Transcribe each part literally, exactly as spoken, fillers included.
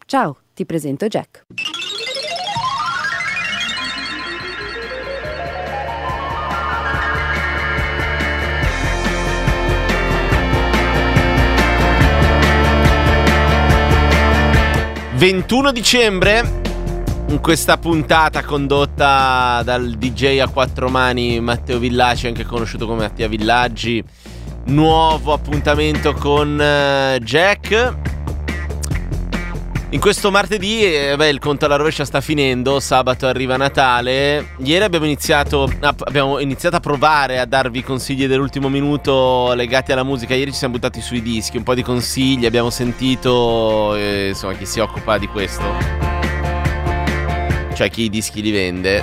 Ciao, ti presento Jack. ventuno dicembre, in questa puntata condotta dal D J a quattro mani Matteo Villaci, anche conosciuto come Mattia Villaggi. Nuovo appuntamento con uh, Jack. In questo martedì, eh, beh, il conto alla rovescia sta finendo. Sabato arriva Natale. Ieri abbiamo iniziato a, abbiamo iniziato a provare a darvi consigli dell'ultimo minuto legati alla musica. Ieri ci siamo buttati sui dischi, un po' di consigli. Abbiamo sentito, eh, insomma, chi si occupa di questo, cioè chi i dischi li vende.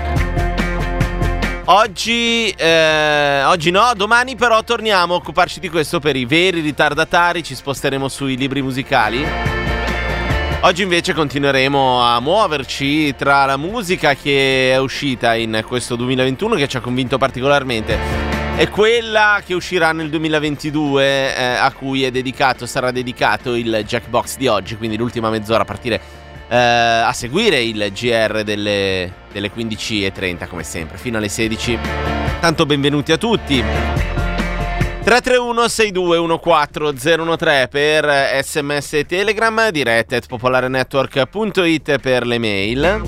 Oggi, eh, oggi no, domani però torniamo a occuparci di questo per i veri ritardatari. Ci sposteremo sui libri musicali. Oggi invece continueremo a muoverci tra la musica che è uscita in questo duemilaventuno, che ci ha convinto particolarmente, e quella che uscirà nel duemilaventidue, eh, a cui è dedicato, sarà dedicato il Jackbox di oggi, quindi l'ultima mezz'ora a partire eh, a seguire il G R delle, delle quindici e trenta, come sempre, fino alle sedici. Tanto benvenuti a tutti. tre tre uno sei due uno quattro zero uno tre per sms e telegram, dirette at popolarenetwork punto it per le mail.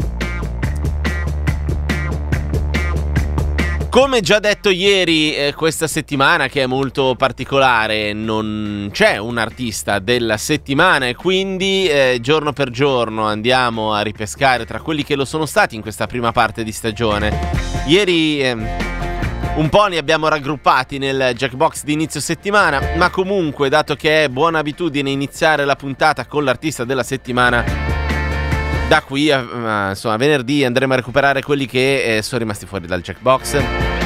Come già detto ieri, eh, questa settimana, che è molto particolare, non c'è un artista della settimana e quindi eh, giorno per giorno andiamo a ripescare tra quelli che lo sono stati in questa prima parte di stagione. Ieri eh, un po' li abbiamo raggruppati nel Jackbox di inizio settimana, ma comunque, dato che è buona abitudine iniziare la puntata con l'artista della settimana, da qui a, a insomma, venerdì andremo a recuperare quelli che eh, sono rimasti fuori dal Jackbox.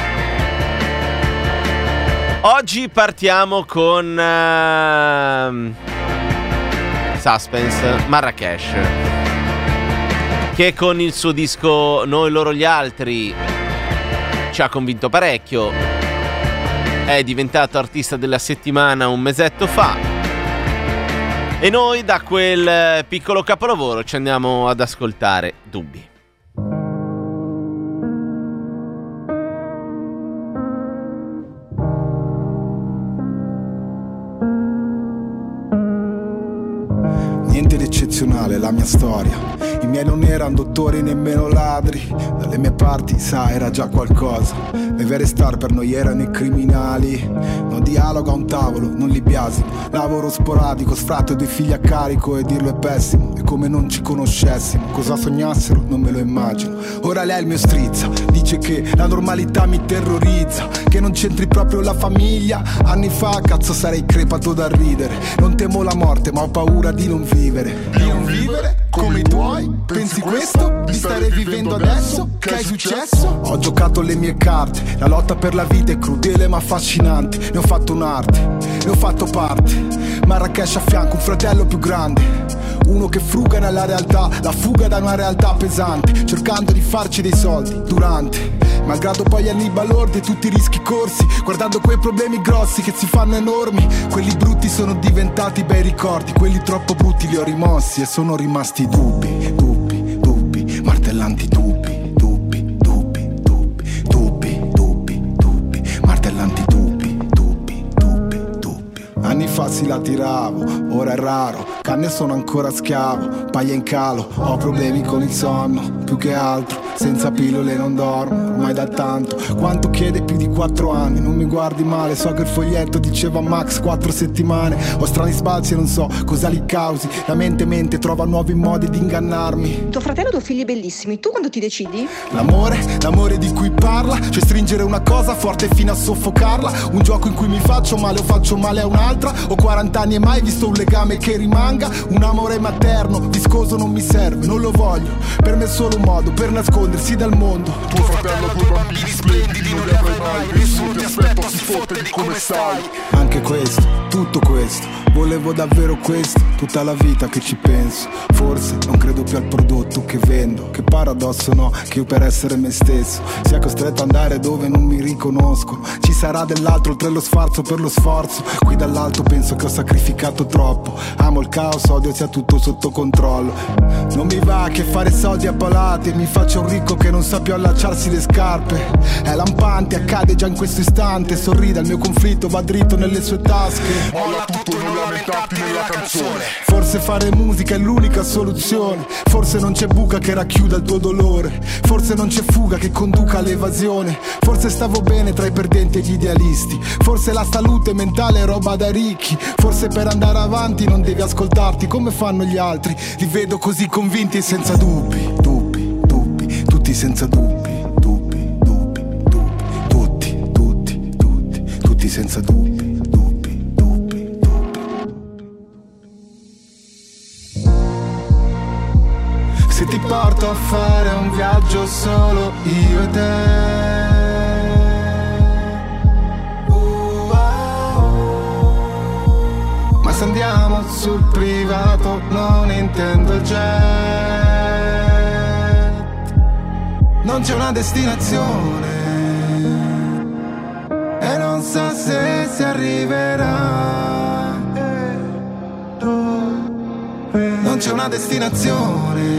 Oggi partiamo con uh, Suspense, Marrakesh, che con il suo disco Noi, loro, gli altri ci ha convinto parecchio. È diventato artista della settimana un mesetto fa e noi da quel piccolo capolavoro ci andiamo ad ascoltare Dubbi. Niente di eccezionale la mia storia. I miei non erano dottori nemmeno ladri. Dalle mie parti, sa, era già qualcosa. Le vere star per noi erano i criminali. Non dialogo a un tavolo, non li biasimo. Lavoro sporadico, sfratto due figli a carico. E dirlo è pessimo, è come non ci conoscessimo. Cosa sognassero, non me lo immagino. Ora lei è il mio strizza, dice che la normalità mi terrorizza, che non c'entri proprio la famiglia. Anni fa, cazzo, sarei crepato da ridere. Non temo la morte, ma ho paura di non vivere. Di non vivere? Come i tuoi? Pensi questo? Di stare vivendo adesso? Che è successo? Ho giocato le mie carte. La lotta per la vita è crudele ma affascinante. Ne ho fatto un'arte, ne ho fatto parte. Marrakesh a fianco, un fratello più grande, uno che fruga nella realtà, la fuga da una realtà pesante, cercando di farci dei soldi durante. Malgrado poi gli anni balordi e tutti i rischi corsi, guardando quei problemi grossi che si fanno enormi. Quelli brutti sono diventati bei ricordi, quelli troppo brutti li ho rimossi e sono rimasti dubbi, dubbi, dubbi, martellanti dubbi, dubbi, dubbi, dubbi, dubbi, dubbi, dubbi, martellanti dubbi, dubbi, dubbi, dubbi. Anni fa si la tiravo, ora è raro, canne sono ancora schiavo, paglia in calo, ho problemi con il sonno, più che altro, senza pillole non dormo, ormai da tanto. Quanto chiede più di quattro anni, non mi guardi male, so che il foglietto diceva max quattro settimane. Ho strani sbalzi e non so cosa li causi, la mente mente trova nuovi modi di ingannarmi. Tuo fratello ha due figli bellissimi, tu quando ti decidi? L'amore, l'amore di cui parla, cioè stringere una cosa forte fino a soffocarla. Un gioco in cui mi faccio male o faccio male a un'altra. Ho quaranta anni e mai visto un legame che rimanga. Un amore materno, viscoso non mi serve, non lo voglio. Per me è solo un modo per nascondersi dal mondo. Tuo fratello, due bambini splendidi, non li avrai mai. Nessuno ti aspetta, si fotte di come stai. Anche questo, tutto questo, volevo davvero questo. Tutta la vita che ci penso. Forse non credo più al prodotto che vendo. Che paradosso no, che io per essere me stesso sia costretto ad andare dove non mi riconoscono. Ci sarà dell'altro oltre lo sfarzo per lo sforzo. Qui dall'alto penso che ho sacrificato troppo. Amo il caos, odio sia tutto sotto controllo. Non mi va che fare soldi a palate. Mi faccio un ricco che non sa più allacciarsi le scarpe. È lampante, accade già in questo istante. Sorrida, il mio conflitto va dritto nelle sue tasche. Molla tutto, non lamentarti nella canzone. Forse fare musica è l'unica soluzione. Forse non c'è buca che racchiuda il tuo dolore. Forse non c'è fuga che conduca all'evasione. Forse stavo bene tra i perdenti e gli idealisti. Forse la salute mentale è roba da ricchi. Forse per andare avanti non devi ascoltarti come fanno gli altri. Li vedo così convinti e senza dubbi. Dubbi, dubbi, tutti senza dubbi. Dubbi, dubbi, dubbi, tutti, tutti, tutti, tutti senza dubbi. Se ti porto a fare un viaggio solo io e te, uh, oh. Ma se andiamo sul privato non intendo il jet. Non c'è una destinazione e non so se si arriverà. Non c'è una destinazione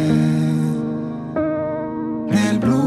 nel blu.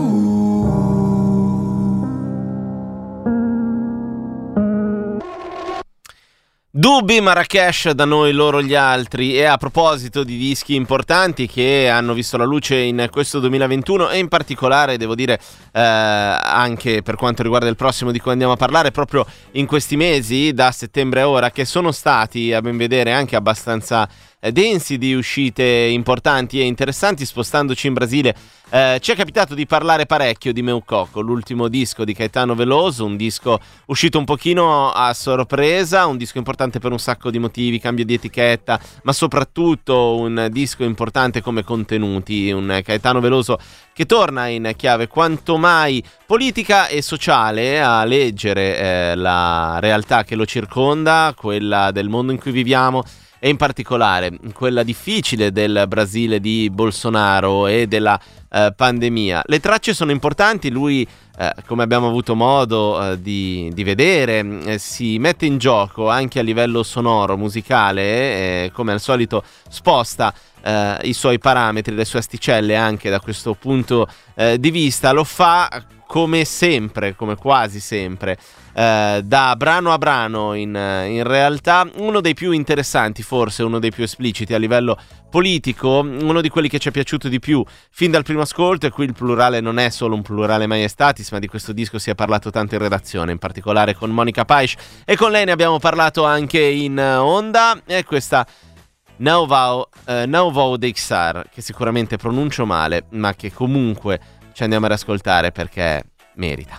Dubbi, Marrakesh, da noi loro gli altri. E a proposito di dischi importanti che hanno visto la luce in questo duemilaventuno e in particolare devo dire eh, anche per quanto riguarda il prossimo di cui andiamo a parlare, proprio in questi mesi da settembre a ora, che sono stati a ben vedere anche abbastanza densi di uscite importanti e interessanti. Spostandoci in Brasile eh, ci è capitato di parlare parecchio di Meu Coco, l'ultimo disco di Caetano Veloso, un disco uscito un pochino a sorpresa, un disco importante per un sacco di motivi, cambio di etichetta, ma soprattutto un disco importante come contenuti, un Caetano Veloso che torna in chiave quanto mai politica e sociale a leggere eh, la realtà che lo circonda, quella del mondo in cui viviamo, e in particolare quella difficile del Brasile di Bolsonaro e della eh, pandemia. Le tracce sono importanti, lui eh, come abbiamo avuto modo eh, di, di vedere eh, si mette in gioco anche a livello sonoro, musicale, eh, come al solito sposta eh, i suoi parametri, le sue asticelle anche da questo punto eh, di vista. Lo fa come sempre, come quasi sempre, eh, da brano a brano in, in realtà uno dei più interessanti, forse uno dei più espliciti a livello politico, uno di quelli che ci è piaciuto di più fin dal primo ascolto. E qui il plurale non è solo un plurale maiestatis, ma di questo disco si è parlato tanto in redazione, in particolare con Monica Pais, e con lei ne abbiamo parlato anche in onda. E questa Não Vou, eh, Não Vou Deixar, che sicuramente pronuncio male, ma che comunque ci andiamo ad ascoltare perché merita.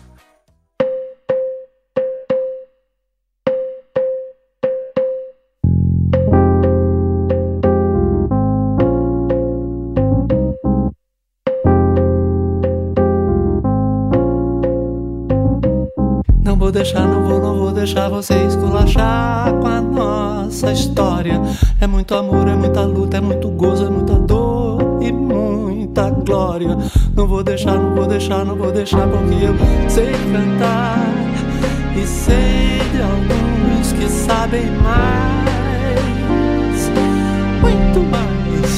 Não vou deixar, não vou, não vou deixar você esculachar com a nossa história. É muito amor, é muita luta, é muito gozo, é muita dor e muita glória. Não vou deixar, não vou deixar, não vou deixar, porque eu sei cantar e sei de alguns que sabem mais, muito mais.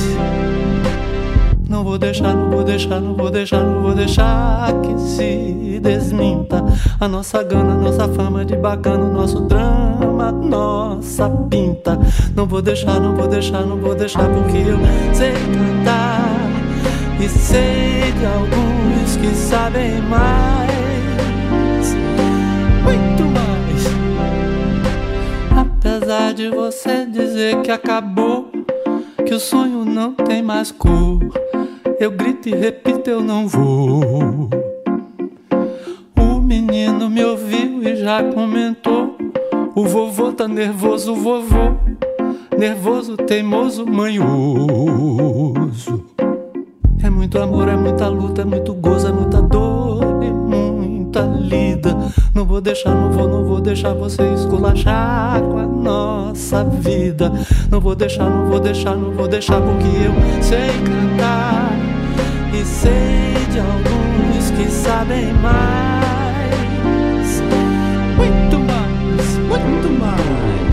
Não vou deixar, não vou deixar, não vou deixar, não vou deixar que se desminta a nossa gana, nossa fama de bacana, nosso drama, nossa pinta. Não vou deixar, não vou deixar, não vou deixar, porque eu sei cantar e sei de alguns que sabem mais, muito mais. Apesar de você dizer que acabou, que o sonho não tem mais cor, eu grito e repito, eu não vou. O menino me ouviu e já comentou: o vovô tá nervoso, o vovô nervoso, teimoso, manhoso. muito amor, é muita luta, é muito gozo, é muita dor e muita lida. Não vou deixar, não vou, não vou deixar você esculachar com a nossa vida. Não vou deixar, não vou deixar, não vou deixar, porque eu sei cantar e sei de alguns que sabem mais, muito mais, muito mais.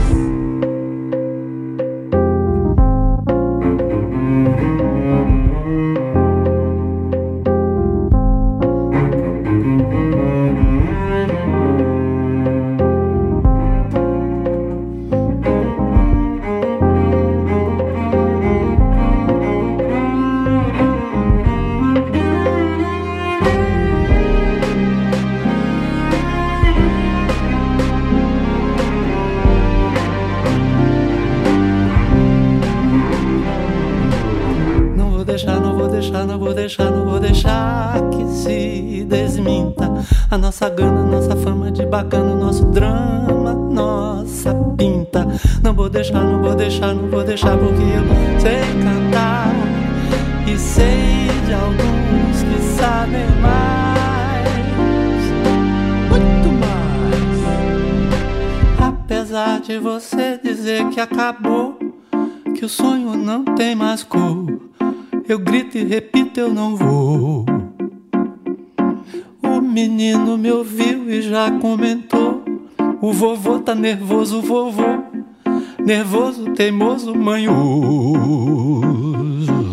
Não vou deixar, não vou deixar que se desminta a nossa gana, nossa fama de bacana, nosso drama, nossa pinta. Não vou deixar, não vou deixar, não vou deixar, porque eu sei cantar e sei de alguns que sabem mais, muito mais. Apesar de você dizer que acabou, que o sonho não tem mais cor, eu grito e repito, eu não vou. O menino me ouviu e já comentou: o vovô tá nervoso, o vovô nervoso, teimoso, manhoso.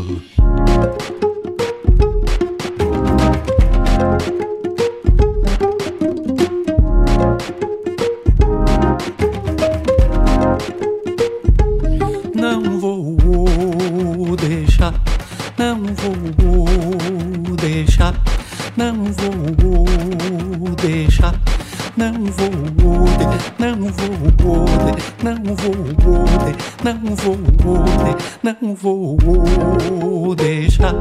Não vou deixar, não vou deixar, não vou deixar, não vou, não vou, não vou, não vou, não vou deixar.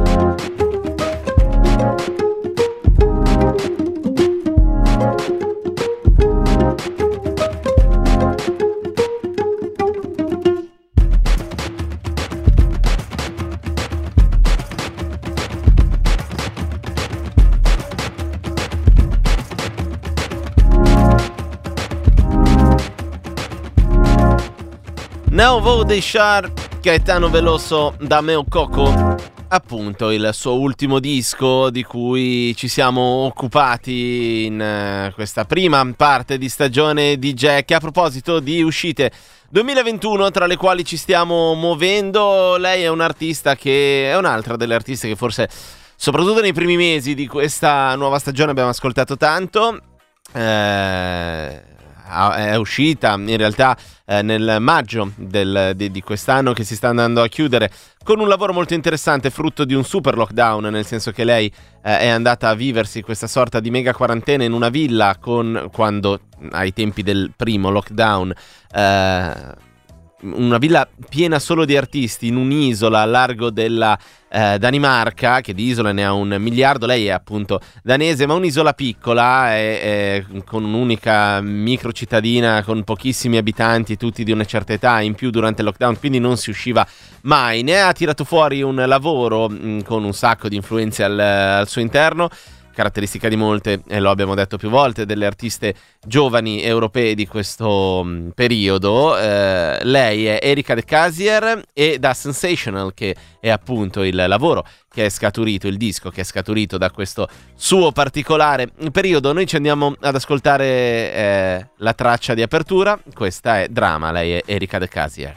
Non vou deixar, Gaetano Veloso da Meo Coco, appunto il suo ultimo disco di cui ci siamo occupati in uh, questa prima parte di stagione di Jack. A proposito di uscite duemilaventuno tra le quali ci stiamo muovendo, lei è un'artista che è un'altra delle artiste che forse soprattutto nei primi mesi di questa nuova stagione abbiamo ascoltato tanto. eh... È uscita in realtà eh, nel maggio del, di, di quest'anno che si sta andando a chiudere, con un lavoro molto interessante, frutto di un super lockdown, nel senso che lei eh, è andata a viversi questa sorta di mega quarantena in una villa, con quando ai tempi del primo lockdown eh, una villa piena solo di artisti in un'isola a largo della eh, Danimarca, che di isole ne ha un miliardo. Lei è appunto danese, ma un'isola piccola, è, è, con un'unica micro cittadina con pochissimi abitanti, tutti di una certa età, in più durante il lockdown, quindi non si usciva mai. Ne ha tirato fuori un lavoro mh, con un sacco di influenze al, al suo interno, caratteristica di molte, e lo abbiamo detto più volte, delle artiste giovani europee di questo mh, periodo. Eh, lei è Erika De Casier, e da Sensational, che è appunto il lavoro che è scaturito, il disco che è scaturito da questo suo particolare periodo, noi ci andiamo ad ascoltare eh, la traccia di apertura. Questa è Drama, lei è Erika De Casier.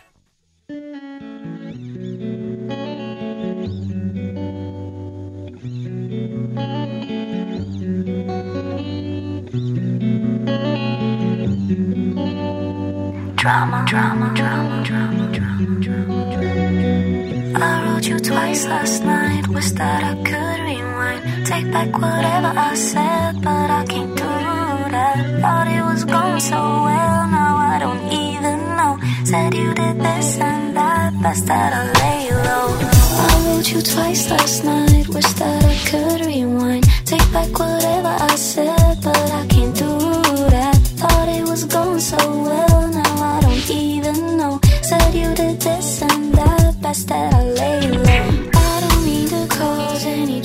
Drama, drama, drama, drama, drama, drama, drama. I wrote you twice last night. Wish that I could rewind, take back whatever I said, but I can't do that. Thought it was going so well, now I don't even know. Said you did this and that, best that I lay low. I wrote you twice last night. Wish that I could rewind, take back whatever I said, but I can't do that. Thought it was going so well, now I don't even know. Said you did this and that, best that I lay low. I don't need to cause any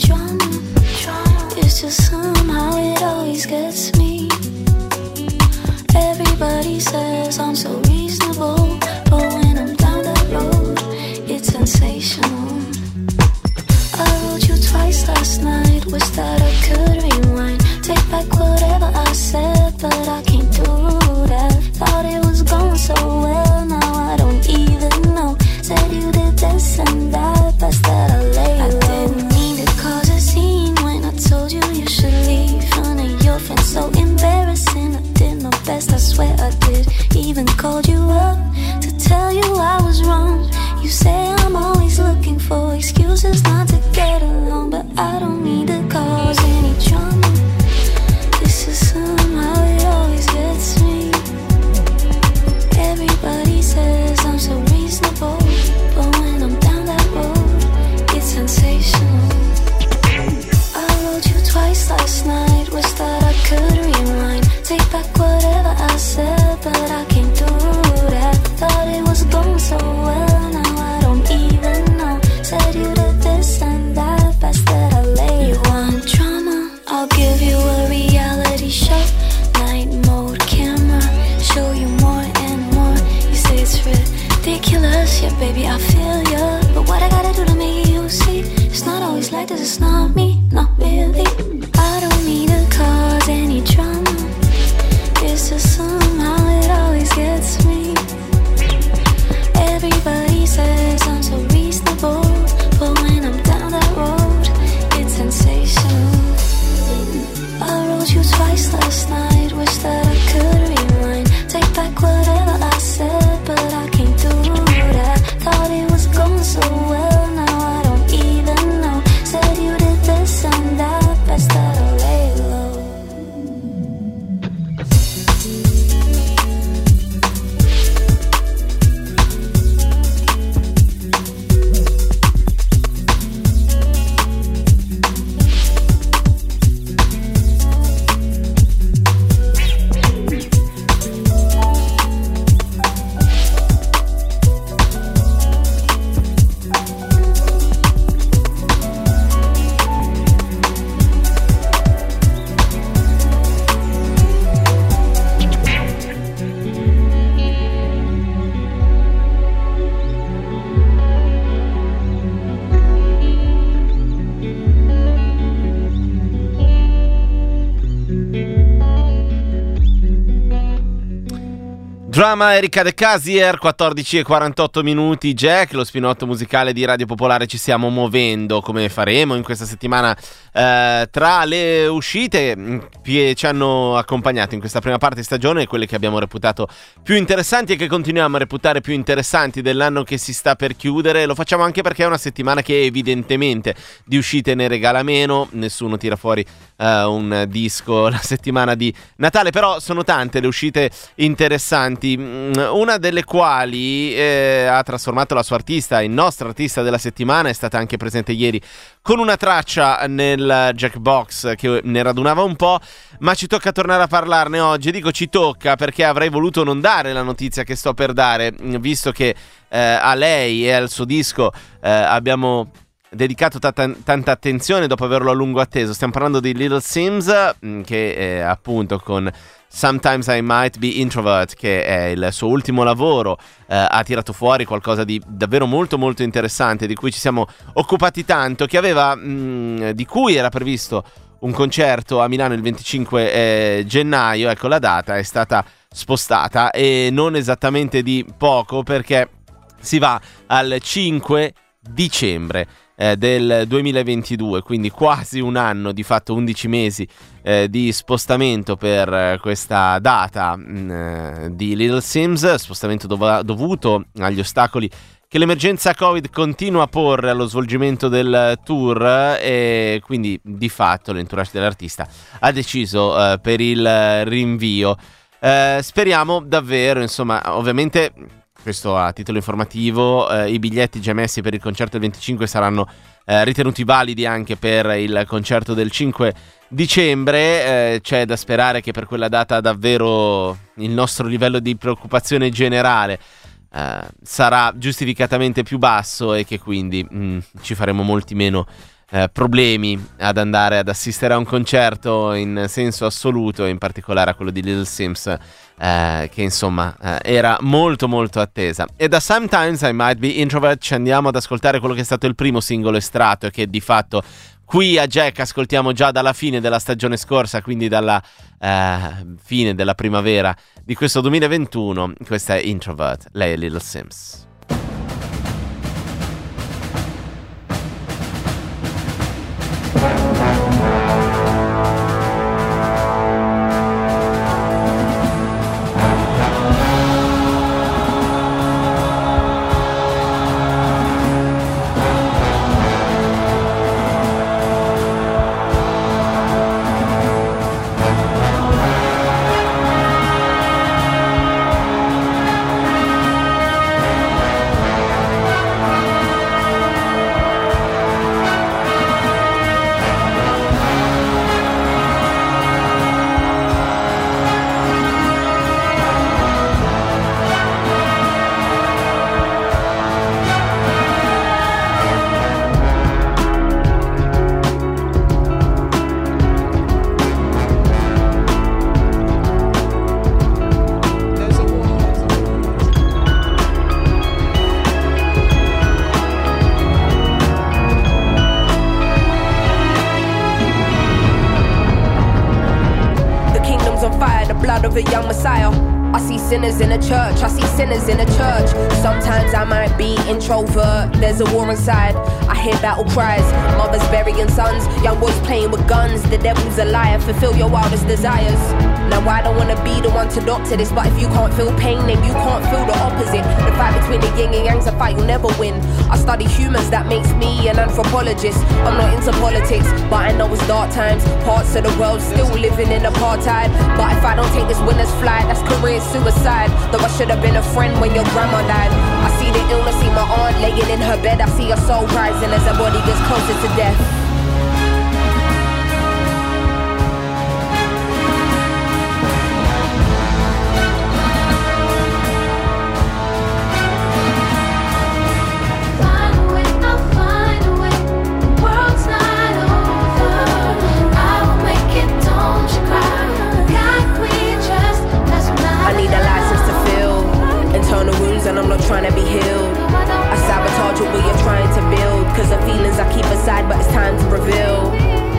I feel ya, but what I gotta do to make you see? It's not always like this, it's not me, not really. I don't need to cause any drama. It's just somehow it always gets me. Everybody says I'm so reasonable, but when I'm down that road, it's sensational. I wrote you twice last night, wish that I could rewind. Take back whatever I said, but I can't do that. Thought it was going so well, now I don't even know. Said you did this and that, best that I lay low. Drama, Erika De Casier, quattordici e quarantotto minuti. Jack, lo spinotto musicale di Radio Popolare, ci stiamo muovendo come faremo in questa settimana eh, tra le uscite che ci hanno accompagnato in questa prima parte di stagione e quelle che abbiamo reputato più interessanti e che continuiamo a reputare più interessanti dell'anno che si sta per chiudere. Lo facciamo anche perché è una settimana che evidentemente di uscite ne regala meno, nessuno tira fuori eh, un disco la settimana di Natale, però sono tante le uscite interessanti, una delle quali eh, ha trasformato la sua artista in nostra artista della settimana. È stata anche presente ieri con una traccia nel Jackbox che ne radunava un po', ma ci tocca tornare a parlarne oggi. Dico ci tocca perché avrei voluto non dare la notizia che sto per dare, visto che eh, a lei e al suo disco eh, abbiamo dedicato tanta, tanta attenzione dopo averlo a lungo atteso. Stiamo parlando di Little Sims, che eh, appunto con Sometimes I Might Be Introvert, che è il suo ultimo lavoro, eh, ha tirato fuori qualcosa di davvero molto molto interessante, di cui ci siamo occupati tanto, che aveva mh, di cui era previsto un concerto a Milano il venticinque eh, gennaio. Ecco, la data è stata spostata, e non esattamente di poco, perché si va al cinque dicembre eh, del duemilaventidue, quindi quasi un anno, di fatto undici mesi eh, di spostamento per eh, questa data mh, di Little Sims, spostamento dov- dovuto agli ostacoli che l'emergenza Covid continua a porre allo svolgimento del tour, e quindi di fatto l'entourage dell'artista ha deciso eh, per il rinvio. Eh, speriamo davvero, insomma, ovviamente questo a titolo informativo, eh, i biglietti già messi per il concerto del venticinque saranno eh, ritenuti validi anche per il concerto del cinque dicembre. Eh, c'è da sperare che per quella data davvero il nostro livello di preoccupazione generale eh, sarà giustificatamente più basso, e che quindi mh, ci faremo molti meno eh, problemi ad andare ad assistere a un concerto in senso assoluto, in particolare a quello di Little Sims, Eh, che insomma eh, era molto molto attesa. E da Sometimes I Might Be Introvert ci andiamo ad ascoltare quello che è stato il primo singolo estratto, e che di fatto qui a Jack ascoltiamo già dalla fine della stagione scorsa, quindi dalla eh, fine della primavera di questo duemilaventuno. Questa è Introvert, lei è Little Sims. I of a young Messiah. I see sinners in a church, I see sinners in a church. Sometimes I might be introvert, there's a war inside. I hear battle cries, mothers burying sons, young boys playing with guns. The devil's a liar, fulfill your wildest desires. Now I don't wanna be the one to doctor this, but if you can't feel pain, then you can't feel the opposite. The fight between the yin and yang's a fight you'll never win. I study humans, that makes me an anthropologist. I'm not into politics, but I know it's dark times. Parts of the world still living in apartheid. But if I don't take this winner's flight, that's career suicide. Though I should have been a friend when your grandma died. I see the illness, see my aunt laying in her bed. I see her soul rising as her body gets closer to death. And I'm not trying to be healed. I sabotage what you're trying to build, cause the feelings I keep aside, but it's time to reveal.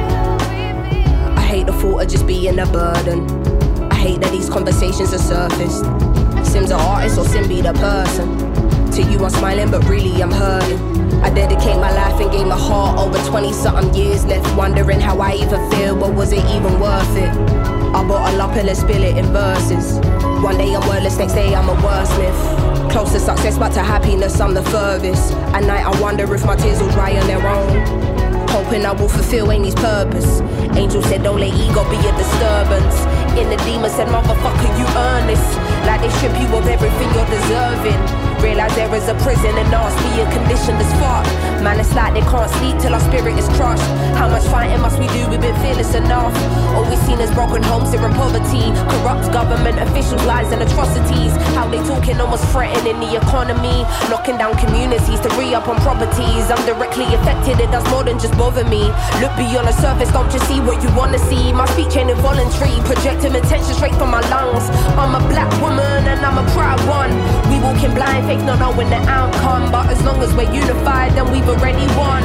I hate the thought of just being a burden. I hate that these conversations are surfaced. Sim's an artist or Sim be the person. To you I'm smiling but really I'm hurting. I dedicate my life and gave my heart over twenty something years. Left wondering how I even feel, but was it even worth it? I bottle up and then spill it in verses. One day I'm wordless, next day I'm a wordsmith. Close to success but to happiness I'm the furthest. At night I wonder if my tears will dry on their own. Hoping I will fulfill Amy's purpose. Angel said don't let ego be a disturbance. In the demon said motherfucker you earn this. Like they strip you of everything you're deserving. Realize there is a prison and ours being conditioned as fuck. Man, it's like they can't sleep till our spirit is crushed. How much fighting must we do? We've been fearless enough. All we've seen is broken homes here in poverty. Corrupt government officials, lies and atrocities. How they talking almost threatening the economy. Knocking down communities to re-up on properties. I'm directly affected, it does more than just bother me. Look beyond the surface, don't just see what you wanna see. My speech ain't involuntary, projecting attention straight from my lungs. I'm a black woman and I'm a proud one. We walking blind, fake not knowing the outcome. But as long as we're unified, then we've already won.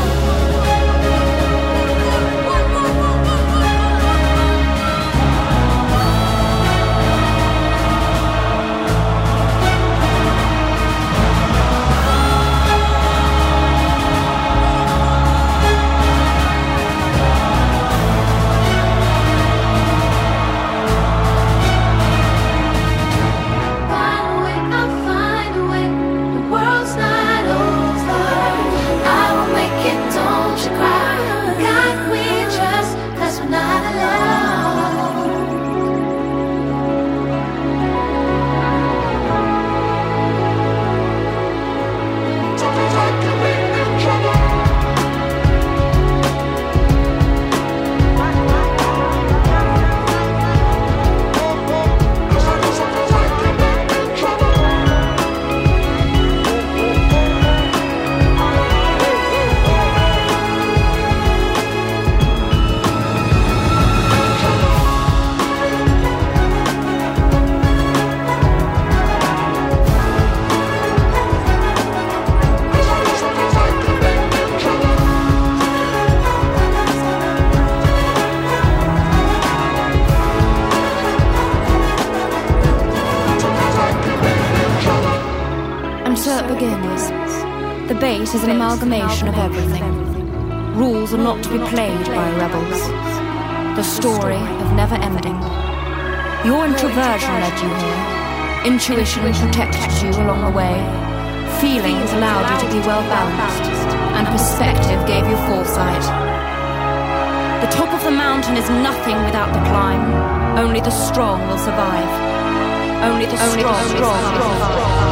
Is an amalgamation of everything. Rules are not to be played by rebels. The story of never ending. Your introversion led you here. Intuition protected you along the way. Feelings allowed you to be well balanced. And perspective gave you foresight. The top of the mountain is nothing without the climb. Only the strong will survive. Only the strong will survive.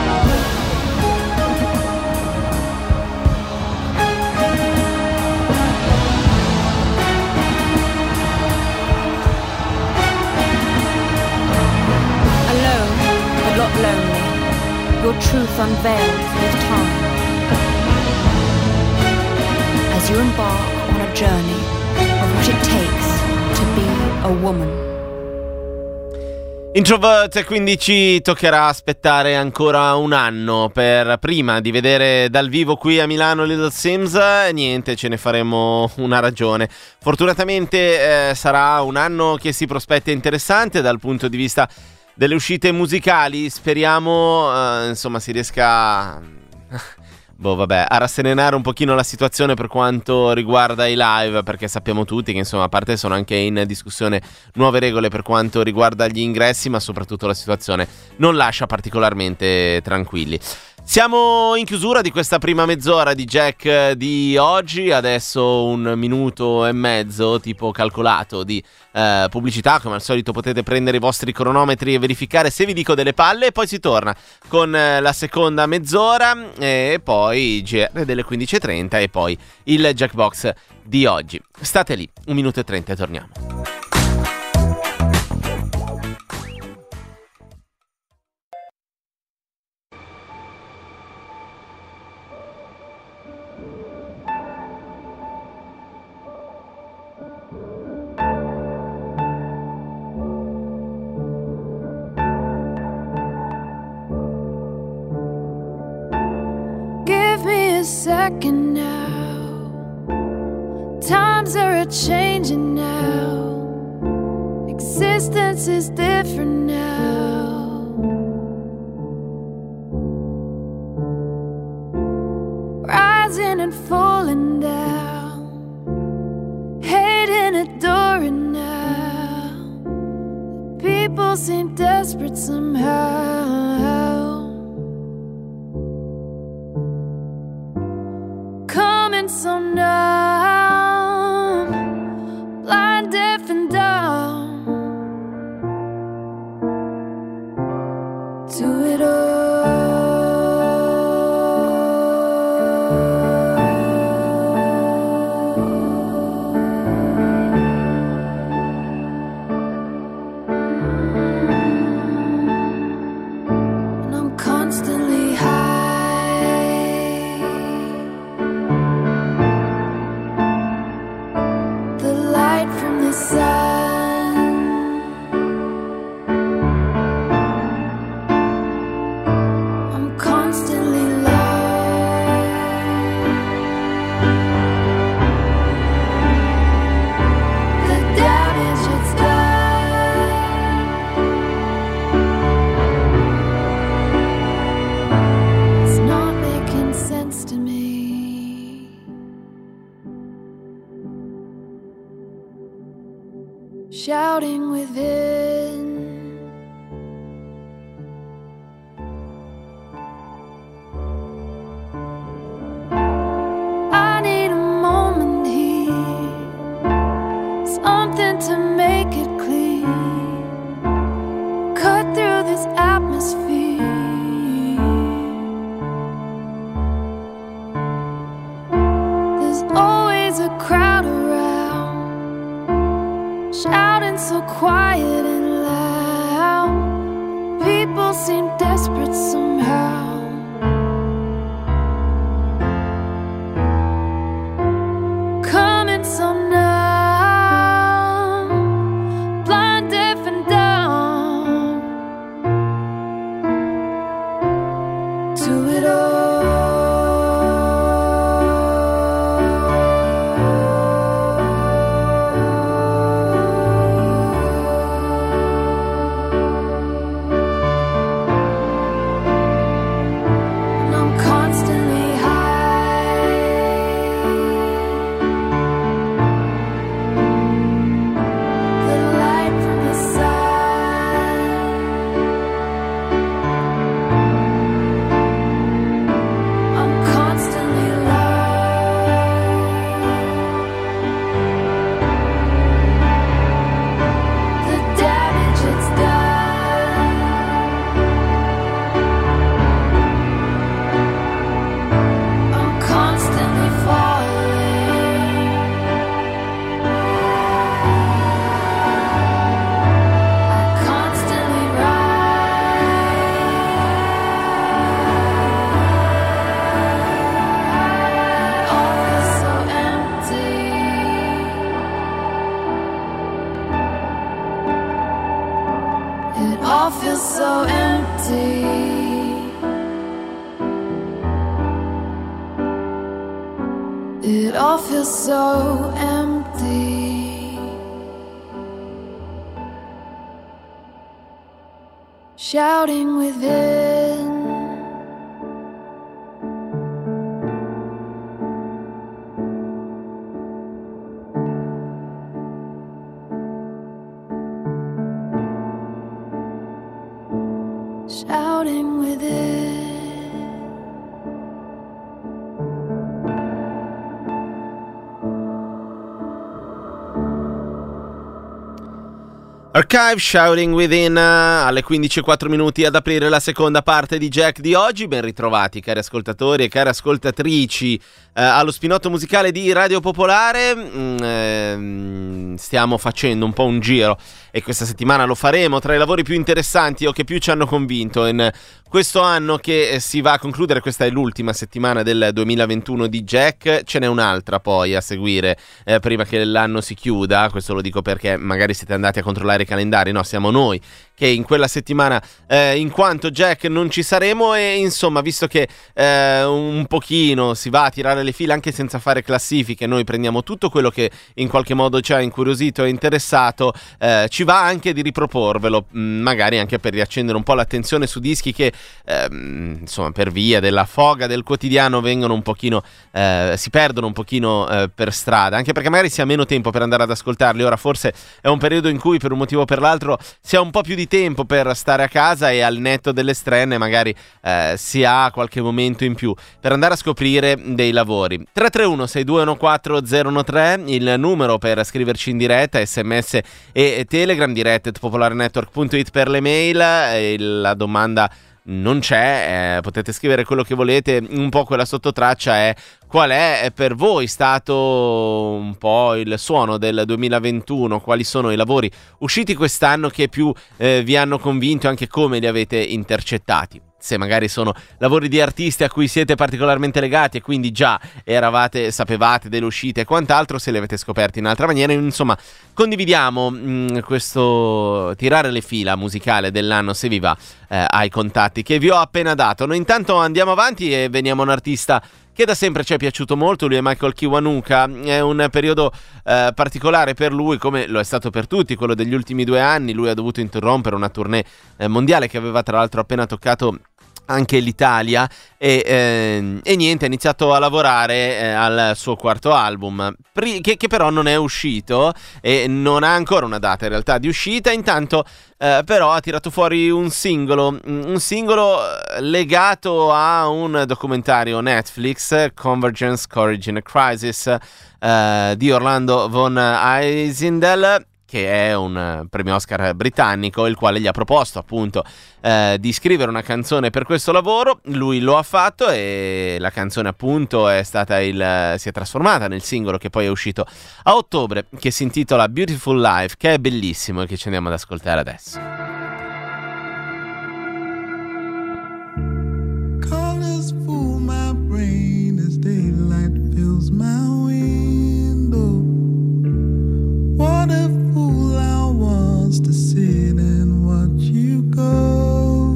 Lonely, your truth unveiled with time. As you embark on a journey of what it takes to be a woman. Introvert, quindi ci toccherà aspettare ancora un anno per prima di vedere dal vivo qui a Milano Little Sims. Niente, ce ne faremo una ragione. Fortunatamente eh, sarà un anno che si prospetta interessante dal punto di vista delle uscite musicali. Speriamo eh, insomma si riesca boh vabbè a rasserenare un pochino la situazione per quanto riguarda i live, perché sappiamo tutti che insomma a parte sono anche in discussione nuove regole per quanto riguarda gli ingressi, ma soprattutto la situazione non lascia particolarmente tranquilli. Siamo in chiusura di questa prima mezz'ora di Jack di oggi. Adesso un minuto e mezzo tipo calcolato di eh, pubblicità. Come al solito potete prendere i vostri cronometri e verificare se vi dico delle palle, e poi si torna con eh, la seconda mezz'ora e poi il G R delle quindici e trenta e poi il Jackbox di oggi. State lì, un minuto e trenta e torniamo. Second now, times are a changing now, existence is different now. Rising and falling down, hating, adoring now. People seem desperate somehow. So numb, blind, deaf and dumb to it all. And I'm constantly high. Shouting within, I need a moment here, something to make it clear, cut through this atmosphere. There's always a crowd around, shouting so quiet and loud. People seem desperate somehow. Coming so numb, blind, deaf and dumb to it all. It all feels so empty. Shouting within. Shouting within. Archive Shouting Within alle quindici e quattro minuti ad aprire la seconda parte di Jack di oggi. Ben ritrovati cari ascoltatori e cari ascoltatrici eh, allo spinotto musicale di Radio Popolare. Mm, eh, stiamo facendo un po' un giro e questa settimana lo faremo tra i lavori più interessanti o che più ci hanno convinto in questo anno che si va a concludere. Questa è l'ultima settimana del duemilaventuno di Jack, ce n'è un'altra poi a seguire eh, prima che l'anno si chiuda. Questo lo dico perché magari siete andati a controllare i calendari, no, siamo noi che in quella settimana eh, in quanto Jack non ci saremo e insomma visto che eh, un pochino si va a tirare le fila anche senza fare classifiche, noi prendiamo tutto quello che in qualche modo ci ha incuriosito e interessato, eh, ci va anche di riproporvelo, mh, magari anche per riaccendere un po' l'attenzione su dischi che Ehm, insomma per via della foga del quotidiano vengono un pochino eh, si perdono un pochino eh, per strada, anche perché magari si ha meno tempo per andare ad ascoltarli. Ora forse è un periodo in cui per un motivo o per l'altro si ha un po' più di tempo per stare a casa e al netto delle strenne magari eh, si ha qualche momento in più per andare a scoprire dei lavori. Tre tre uno sei due uno quattro zero uno tre il numero per scriverci in diretta, sms e telegram, diretta at popolarenetwork punto it per le mail. E la domanda non c'è, eh, potete scrivere quello che volete, un po' quella sottotraccia è: qual è per voi stato un po' il suono del duemilaventuno? Quali sono i lavori usciti quest'anno che più eh, vi hanno convinto, anche come li avete intercettati? Se magari sono lavori di artisti a cui siete particolarmente legati e quindi già eravate, sapevate delle uscite e quant'altro, se le avete scoperte in altra maniera. Insomma, condividiamo mh, questo tirare le fila musicale dell'anno, se vi va, eh, ai contatti che vi ho appena dato. Noi intanto andiamo avanti e veniamo a un artista che da sempre ci è piaciuto molto. Lui è Michael Kiwanuka. È un periodo eh, particolare per lui, come lo è stato per tutti, quello degli ultimi due anni. Lui ha dovuto interrompere una tournée eh, mondiale che aveva tra l'altro appena toccato anche l'Italia e, eh, e niente, ha iniziato a lavorare eh, al suo quarto album pri- che, che però non è uscito e non ha ancora una data in realtà di uscita. Intanto eh, però ha tirato fuori un singolo un singolo legato a un documentario Netflix, Convergence, Courage in a Crisis, eh, di Orlando von Eisendel, che è un premio Oscar britannico, il quale gli ha proposto appunto eh, di scrivere una canzone per questo lavoro. Lui lo ha fatto e la canzone appunto è stata il si è trasformata nel singolo che poi è uscito a ottobre, che si intitola Beautiful Life, che è bellissimo e che ci andiamo ad ascoltare adesso. Colors fool my brain as daylight fills my window. What a fool I was to sit and watch you go,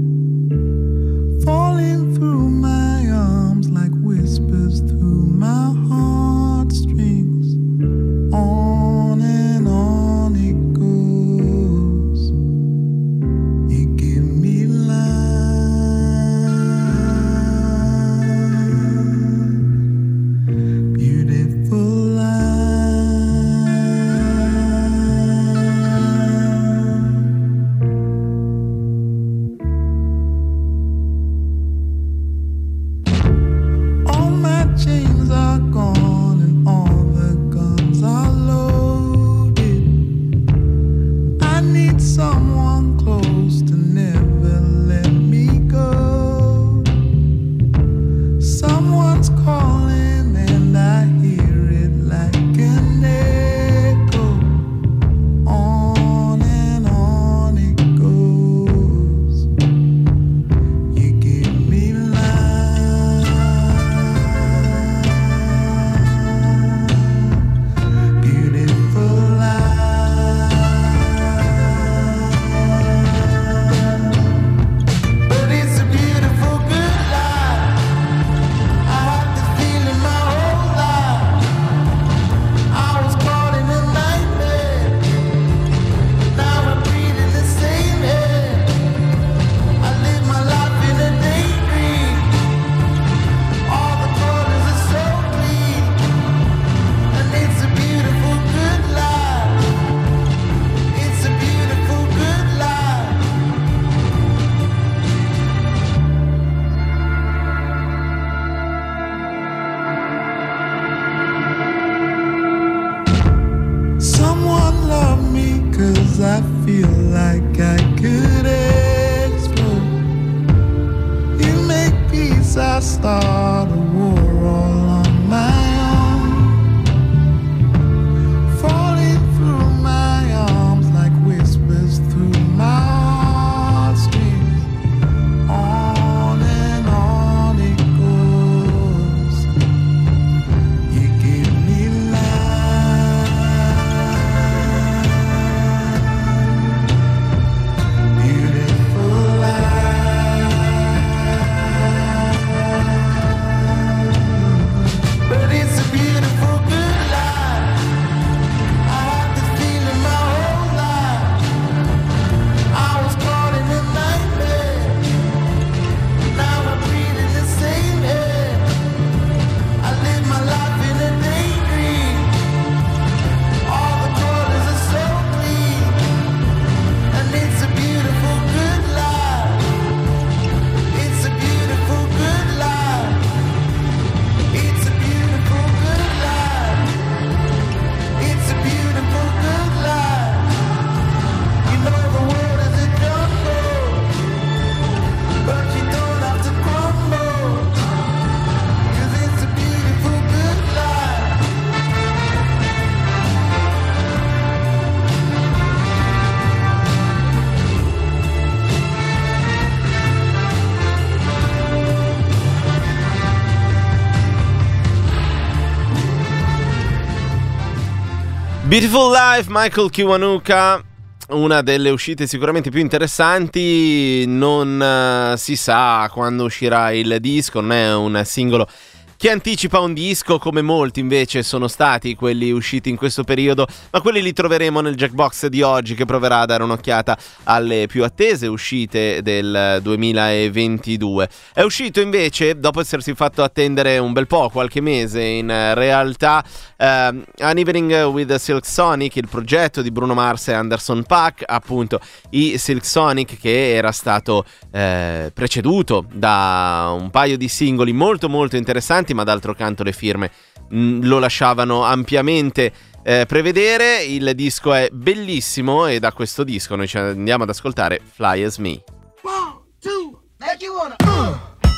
falling through my arms like whispers through my heartstrings. On and on it goes. You give me life, beautiful life. feel like I could explode. You make peace, I start a war all on my own. Falling through my arms like whispers through my heartstrings. On and on it goes. You give me life, beautiful life. But it's a beautiful good life. I had this feeling my whole life. I was caught in a nightmare. Now I'm breathing the same air. I live my life in a daydream. All the colors are so clean. And it's a beautiful good life. It's a beautiful good life. It's a beautiful good life. It's a beautiful good life. You know the world is a jungle, but you don't have to crumble, 'cause it's a beautiful good life. Beautiful Life, Michael Kiwanuka, una delle uscite sicuramente più interessanti. Non eh, si sa quando uscirà il disco, non è un singolo che anticipa un disco come molti invece sono stati quelli usciti in questo periodo, ma quelli li troveremo nel Jackbox di oggi, che proverà a dare un'occhiata alle più attese uscite del duemilaventidue. È uscito invece, dopo essersi fatto attendere un bel po', qualche mese in realtà, uh, An Evening with Silk Sonic, il progetto di Bruno Mars e Anderson .Paak, appunto i Silk Sonic, che era stato eh, preceduto da un paio di singoli molto molto interessanti, ma d'altro canto le firme mh, lo lasciavano ampiamente eh, prevedere. Il disco è bellissimo e da questo disco noi ci andiamo ad ascoltare Fly As Me. One, two, make you wanna, uh.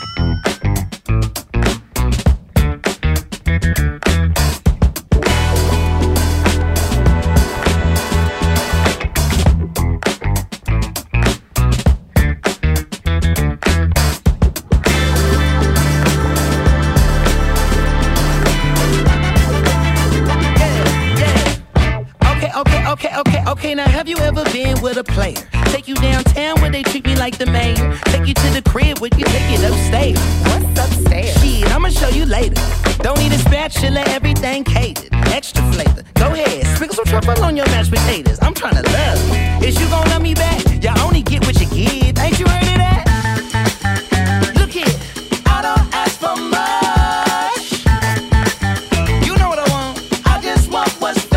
Okay, okay, okay, now have you ever been with a player? Take you downtown where they treat me like the mayor. Take you to the crib where you take it upstairs. What's upstairs? Shit, I'ma show you later. Don't need a spatula, everything catered. Extra flavor, go ahead, sprinkle some truffle on your mashed potatoes. I'm tryna love you. Is you gon' love me back? You only get what you give. Ain't you heard of that? Look here, I don't ask for much. You know what I want, I just want what's fair.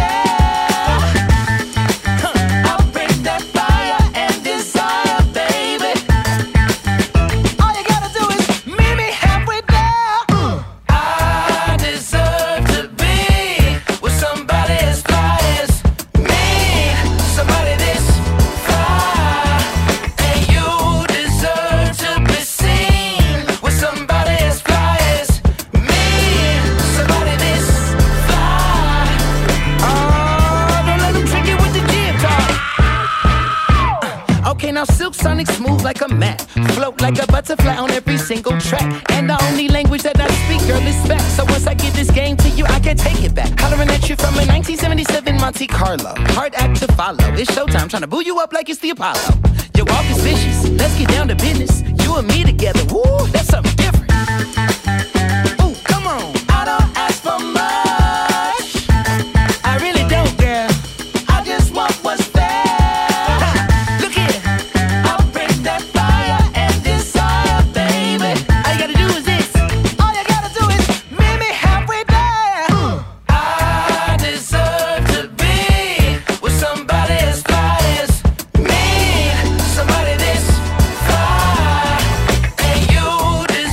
Now Silk Sonic smooth like a mat, float like a butterfly on every single track. And the only language that I speak, girl, is back. So once I give this game to you, I can't take it back. Hollering at you from a nineteen seventy-seven Monte Carlo. Hard act to follow. It's showtime, trying to boo you up like it's the Apollo. Your walk is vicious. Let's get down to business. You and me together, woo, that's something different. Ooh, come on. I don't ask for much. I really don't, girl. I just want what's fair. Somebody this fly, and you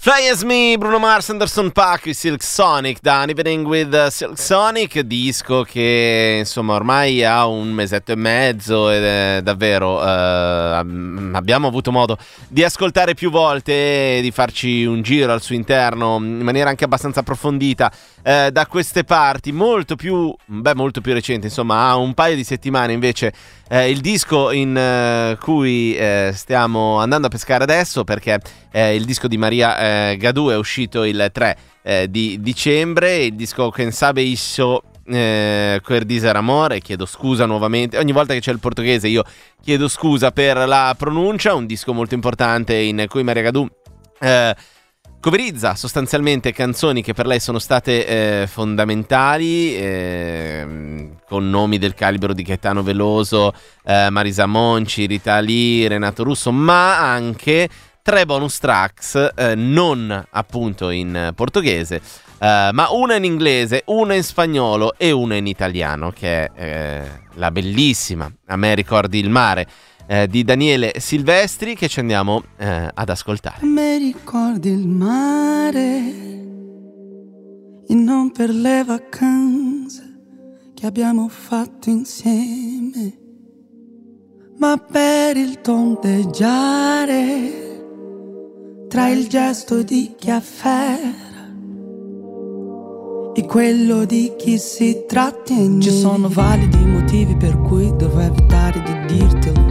Fly As Me, Bruno Mars, Anderson .Paak, Silk Sonic, da An Evening with Silk Sonic, disco che insomma ormai ha un mesetto e mezzo ed è davvero eh, abbiamo avuto modo di ascoltare più volte e di farci un giro al suo interno in maniera anche abbastanza approfondita eh, da queste parti, molto più, beh molto più recente, insomma ha un paio di settimane invece eh, il disco in eh, cui eh, stiamo andando a pescare adesso, perché eh, il disco di Maria eh, Gadou è uscito il tre eh, di dicembre, il disco Quem Sabe Isso eh, Quer Dizer Amore, chiedo scusa nuovamente, ogni volta che c'è il portoghese io chiedo scusa per la pronuncia, un disco molto importante in cui Maria Gadou eh, coverizza sostanzialmente canzoni che per lei sono state eh, fondamentali, eh, con nomi del calibro di Gaetano Veloso, eh, Marisa Monci, Rita Lee, Renato Russo, ma anche tre bonus tracks, eh, non appunto in portoghese, eh, ma una in inglese, una in spagnolo e una in italiano, che è eh, la bellissima A me ricordi il mare, Eh, di Daniele Silvestri, che ci andiamo eh, ad ascoltare. A me ricordi il mare e non per le vacanze che abbiamo fatto insieme, ma per il tondeggiare tra il gesto di chi afferra e quello di chi si trattiene. Ci sono validi motivi per cui devo evitare di dirtelo,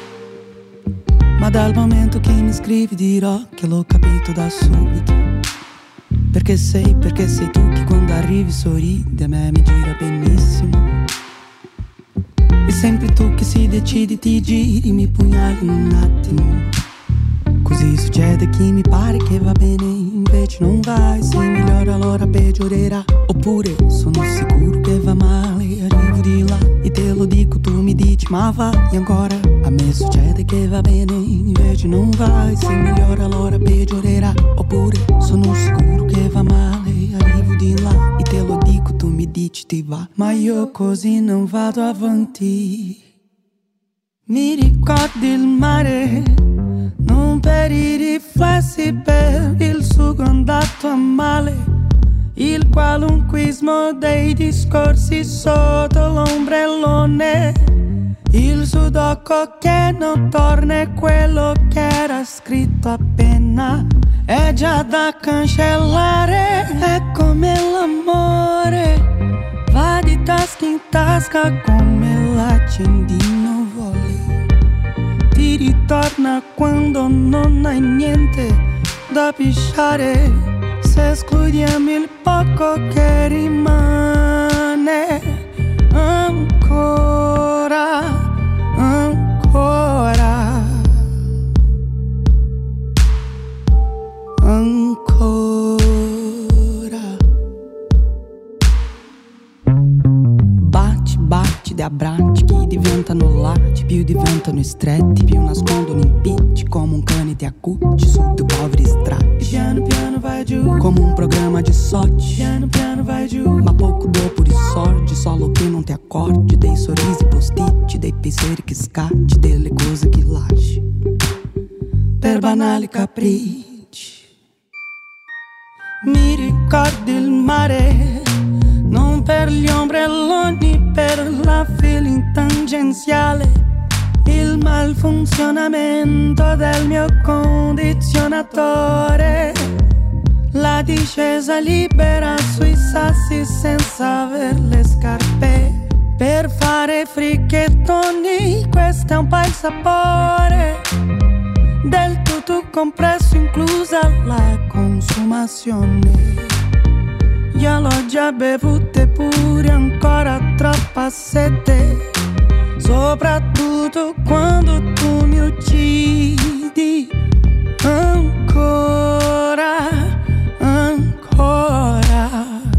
ma dal momento che mi scrivi dirò che l'ho capito da subito. Perché sei, perché sei tu che quando arrivi sorridi, a me mi gira benissimo. E sempre tu che si decidi ti giri, mi pugnali in un attimo. Così succede che mi pare che va bene, invece non vai. Se migliora allora peggiorerà, oppure sono sicuro che va male. Arrivo di là e te lo dico, tu mi dici ma vai ancora. A me succede che va bene, invece non vai. Se migliora allora peggiorerà, oppure sono sicuro che va male. Arrivo di là e te lo dico, tu mi dici ti va, ma io così non vado avanti. Mi ricordi il mare, non per i riflessi, per il sugo andato a male, il qualunquismo dei discorsi sotto l'ombrellone, il sudoku che non torna è quello che era scritto appena, è già da cancellare. È come l'amore, va di tasca in tasca come l'accendino vuole, ti ritorna quando non hai niente da pisciare, se escludiamo il poco che rimane. Ancora, ancora, ancora. Baci, baci di abbracci che diventano lati, più diventano stretti, più nascondono impicci, come un cane ti accucci su due poveri strati. Piano piano vai giù, come un programma di soci. Piano piano vai giù, ma poco dopo risorgi, solo che non ti accorgi dei sorrisi posticci, dei pensieri che scacci, delle cose che lasci per banali capricci. Mi ricordi il mare, non per gli ombrelloni, per la feeling tangenziale, il malfunzionamento del mio condizionatore, la discesa libera sui sassi senza aver le scarpe per fare fricchettoni. Questo è un po' il sapore del tutto compresso, inclusa la consumazione. Io l'ho già bevuta eppure ancora troppa sete, soprattutto quando tu mi uccidi. Ancora, ancora,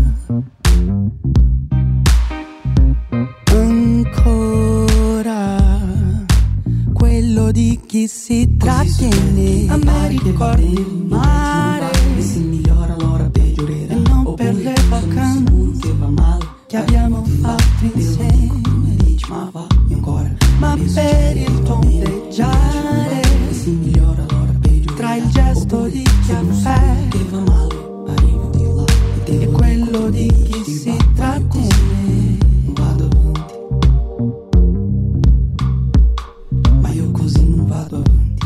ancora, quello di chi si trattiene. A me ricordi il mare, e se migliora allora peggiorerà, e non per le vacanze che va male che abbiamo fatto insieme. Ma va ancora, ma per il tondeggiare si migliora allora peggio, tra il gesto di chi afferra e quello di chi si trattiene. Vado avanti, ma io così non vado avanti,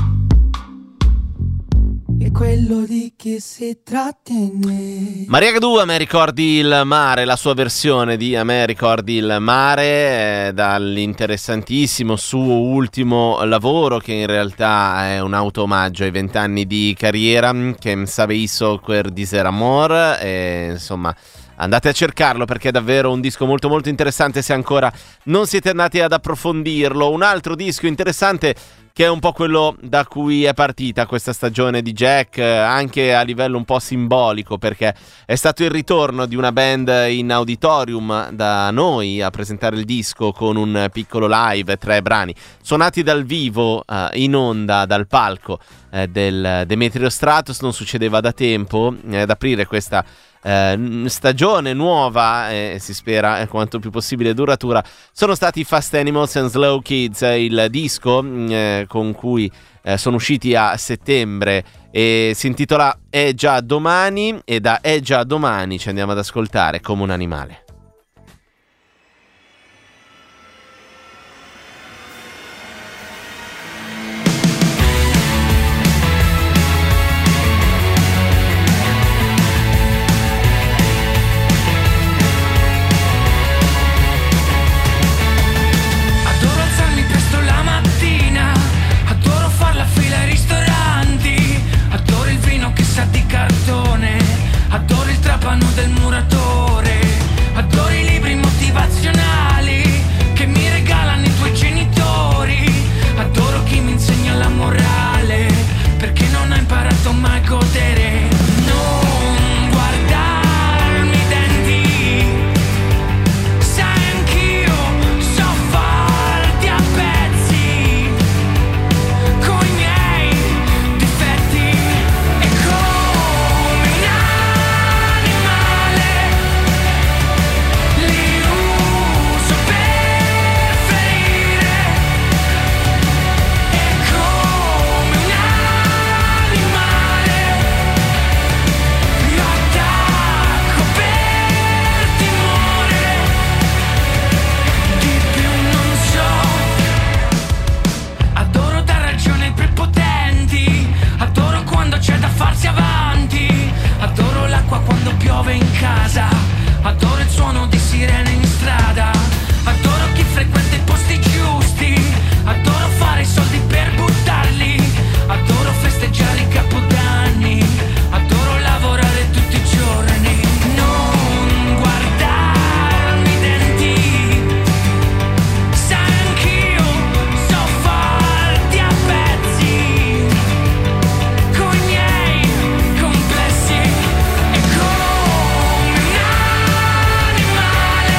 e quello di chi si trattiene. Maria Gadù, A me ricordi il mare, la sua versione di A me ricordi il mare, eh, dall'interessantissimo suo ultimo lavoro, che in realtà è un auto-omaggio ai vent'anni di carriera, che sabe isso quer diser amor, e insomma andate a cercarlo perché è davvero un disco molto molto interessante se ancora non siete andati ad approfondirlo. Un altro disco interessante che è un po' quello da cui è partita questa stagione di Jack, anche a livello un po' simbolico, perché è stato il ritorno di una band in auditorium da noi a presentare il disco con un piccolo live, tre brani suonati dal vivo, uh, in onda dal palco uh, del Demetrio Stratos. Non succedeva da tempo, eh, ad aprire questa Eh, stagione nuova e eh, si spera eh, quanto più possibile duratura sono stati Fast Animals and Slow Kids, eh, il disco eh, con cui eh, sono usciti a settembre e si intitola È già domani, e da È già domani ci andiamo ad ascoltare Come un animale. Adoro il trapano del muratore, adoro i libri motivazionali che mi regalano i tuoi genitori, adoro chi mi insegna la morale, perché non ha imparato mai a godere. Non guardarmi i denti, sai anch'io so farti a pezzi coi miei difetti, e come un animale li uso per ferire, e come un animale lo attacco per timore, di più non so. Adoro dar ragione ai prepotenti, adoro quando c'è da farsi avanti, adoro l'acqua quando piove in casa, adoro il suono di sirene in strada, adoro chi frequenta i posti giusti, adoro fare i soldi per buttarli, adoro festeggiare i capodanni, adoro lavorare tutti i giorni. Non guardarmi i denti, sai anch'io so farti a pezzi coi miei complessi, e come un animale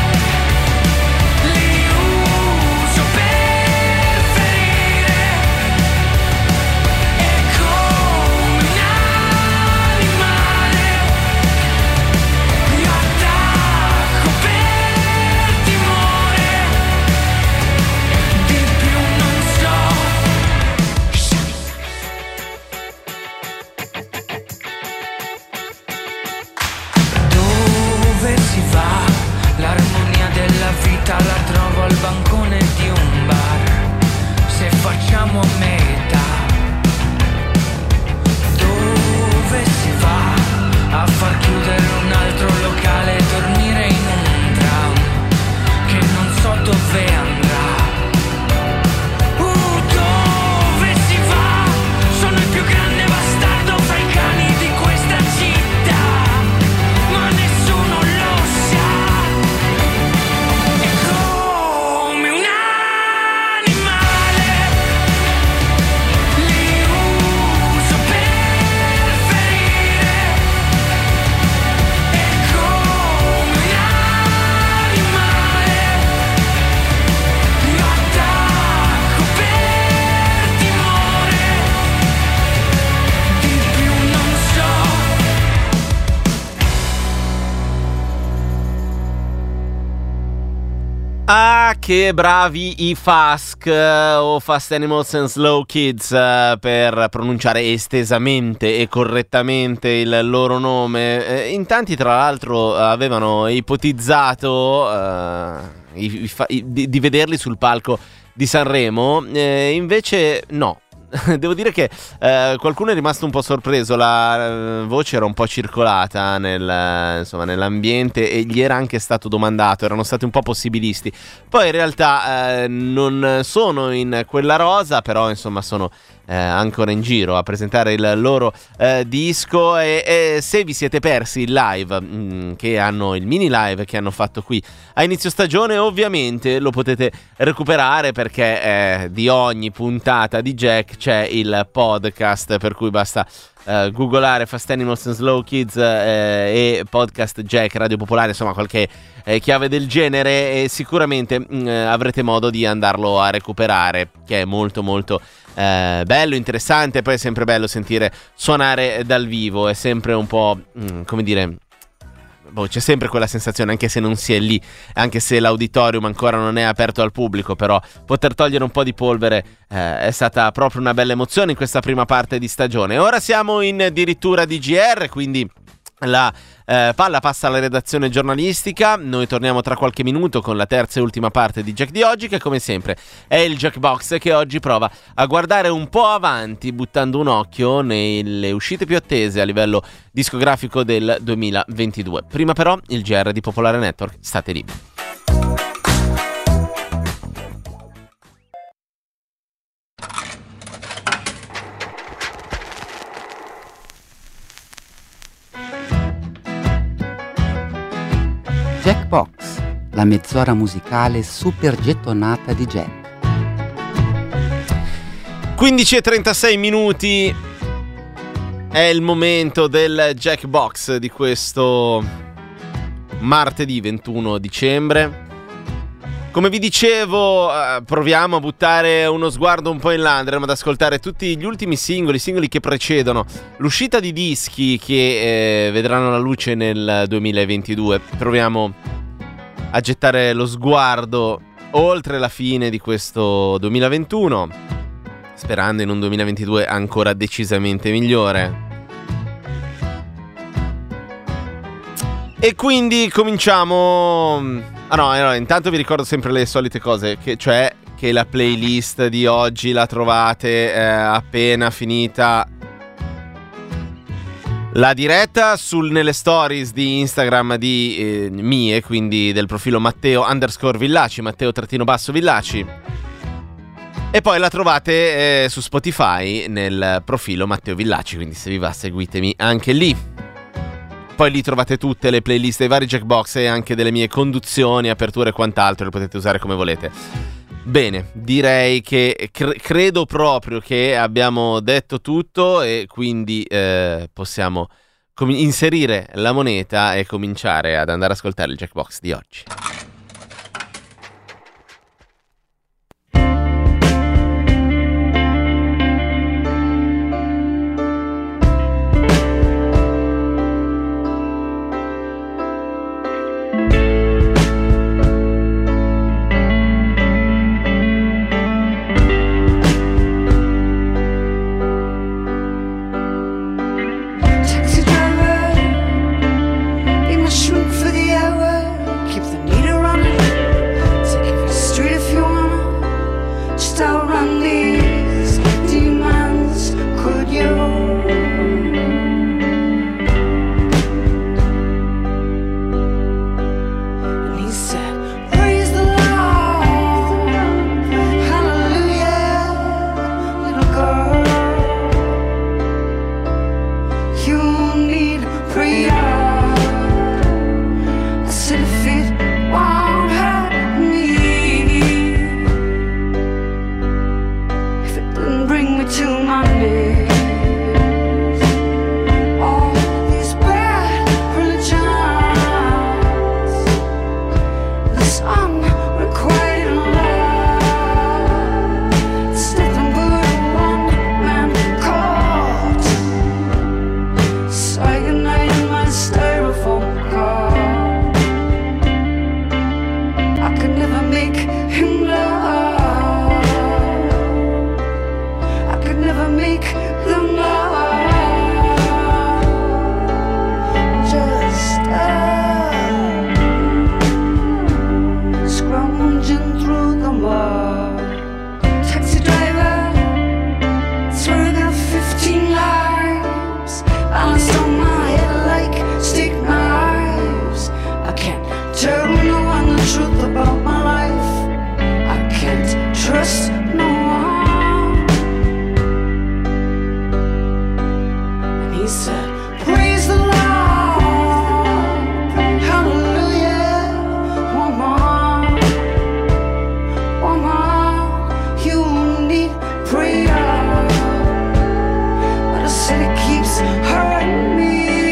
li uso per ferire, e come un animale lo attacco per timore, di più non so. Dove si va? L'armonia della vita la trovo al bancone di un bar, se facciamo metà. Dove si va? A far chiudere un altro locale e dormire in un tram che non so dove andrà. Uh, dove si va? Sono il più grande bastardo fra i cani di questa città, ma nessuno lo sa. E come un animale che bravi i F A S C eh, o Fast Animals and Slow Kids eh, per pronunciare estesamente e correttamente il loro nome. Eh, in tanti tra l'altro avevano ipotizzato eh, i, i, i, di, di vederli sul palco di Sanremo, eh, invece no. Devo dire che eh, qualcuno è rimasto un po' sorpreso, la eh, voce era un po' circolata nel, insomma, nell'ambiente e gli era anche stato domandato, erano stati un po' possibilisti. Poi in realtà eh, non sono in quella rosa, però insomma sono eh, ancora in giro a presentare il loro eh, disco e, e se vi siete persi il live mh, che hanno, il mini live che hanno fatto qui a inizio stagione, ovviamente lo potete recuperare perché eh, di ogni puntata di Jack c'è il podcast, per cui basta uh, googolare Fast Animals and Slow Kids uh, e podcast Jack Radio Popolare, insomma qualche eh, chiave del genere, e sicuramente uh, avrete modo di andarlo a recuperare, che è molto molto uh, bello, interessante. Poi è sempre bello sentire suonare dal vivo, è sempre un po' mh, come dire... Boh, c'è sempre quella sensazione, anche se non si è lì, anche se l'auditorium ancora non è aperto al pubblico, però poter togliere un po' di polvere eh, è stata proprio una bella emozione in questa prima parte di stagione. Ora siamo in addirittura D G R, quindi la eh, palla passa alla redazione giornalistica. Noi torniamo tra qualche minuto con la terza e ultima parte di Jack di oggi, che come sempre è il Jackbox, che oggi prova a guardare un po' avanti, buttando un occhio nelle uscite più attese a livello discografico del duemilaventidue. Prima però il G R di Popolare Network, state lì. Jackbox, la mezz'ora musicale super gettonata di Jack. quindici e trentasei minuti è il momento del Jackbox di questo martedì ventuno dicembre. Come vi dicevo, eh, proviamo a buttare uno sguardo un po' in là, andremo ad ascoltare tutti gli ultimi singoli, singoli che precedono l'uscita di dischi che eh, vedranno la luce nel duemilaventidue. Proviamo a gettare lo sguardo oltre la fine di questo duemilaventuno, sperando in un duemilaventidue ancora decisamente migliore. E quindi cominciamo... Ah no, allora, intanto vi ricordo sempre le solite cose, che, cioè che la playlist di oggi la trovate eh, appena finita la diretta sul, nelle stories di Instagram di eh, mie, quindi del profilo Matteo underscore Villaci, Matteo trattino basso Villaci, e poi la trovate eh, su Spotify nel profilo Matteo Villaci, quindi se vi va seguitemi anche lì. Poi lì trovate tutte le playlist dei vari Jackbox e anche delle mie conduzioni, aperture e quant'altro, le potete usare come volete. Bene, direi che cre- credo proprio che abbiamo detto tutto e quindi eh, possiamo com- inserire la moneta e cominciare ad andare ad ascoltare il Jackbox di oggi. Taxi driver, be my shoe for the hour. Keep the needle said, praise the Lord, hallelujah. One more, one more, you need prayer, but I said it keeps hurting me,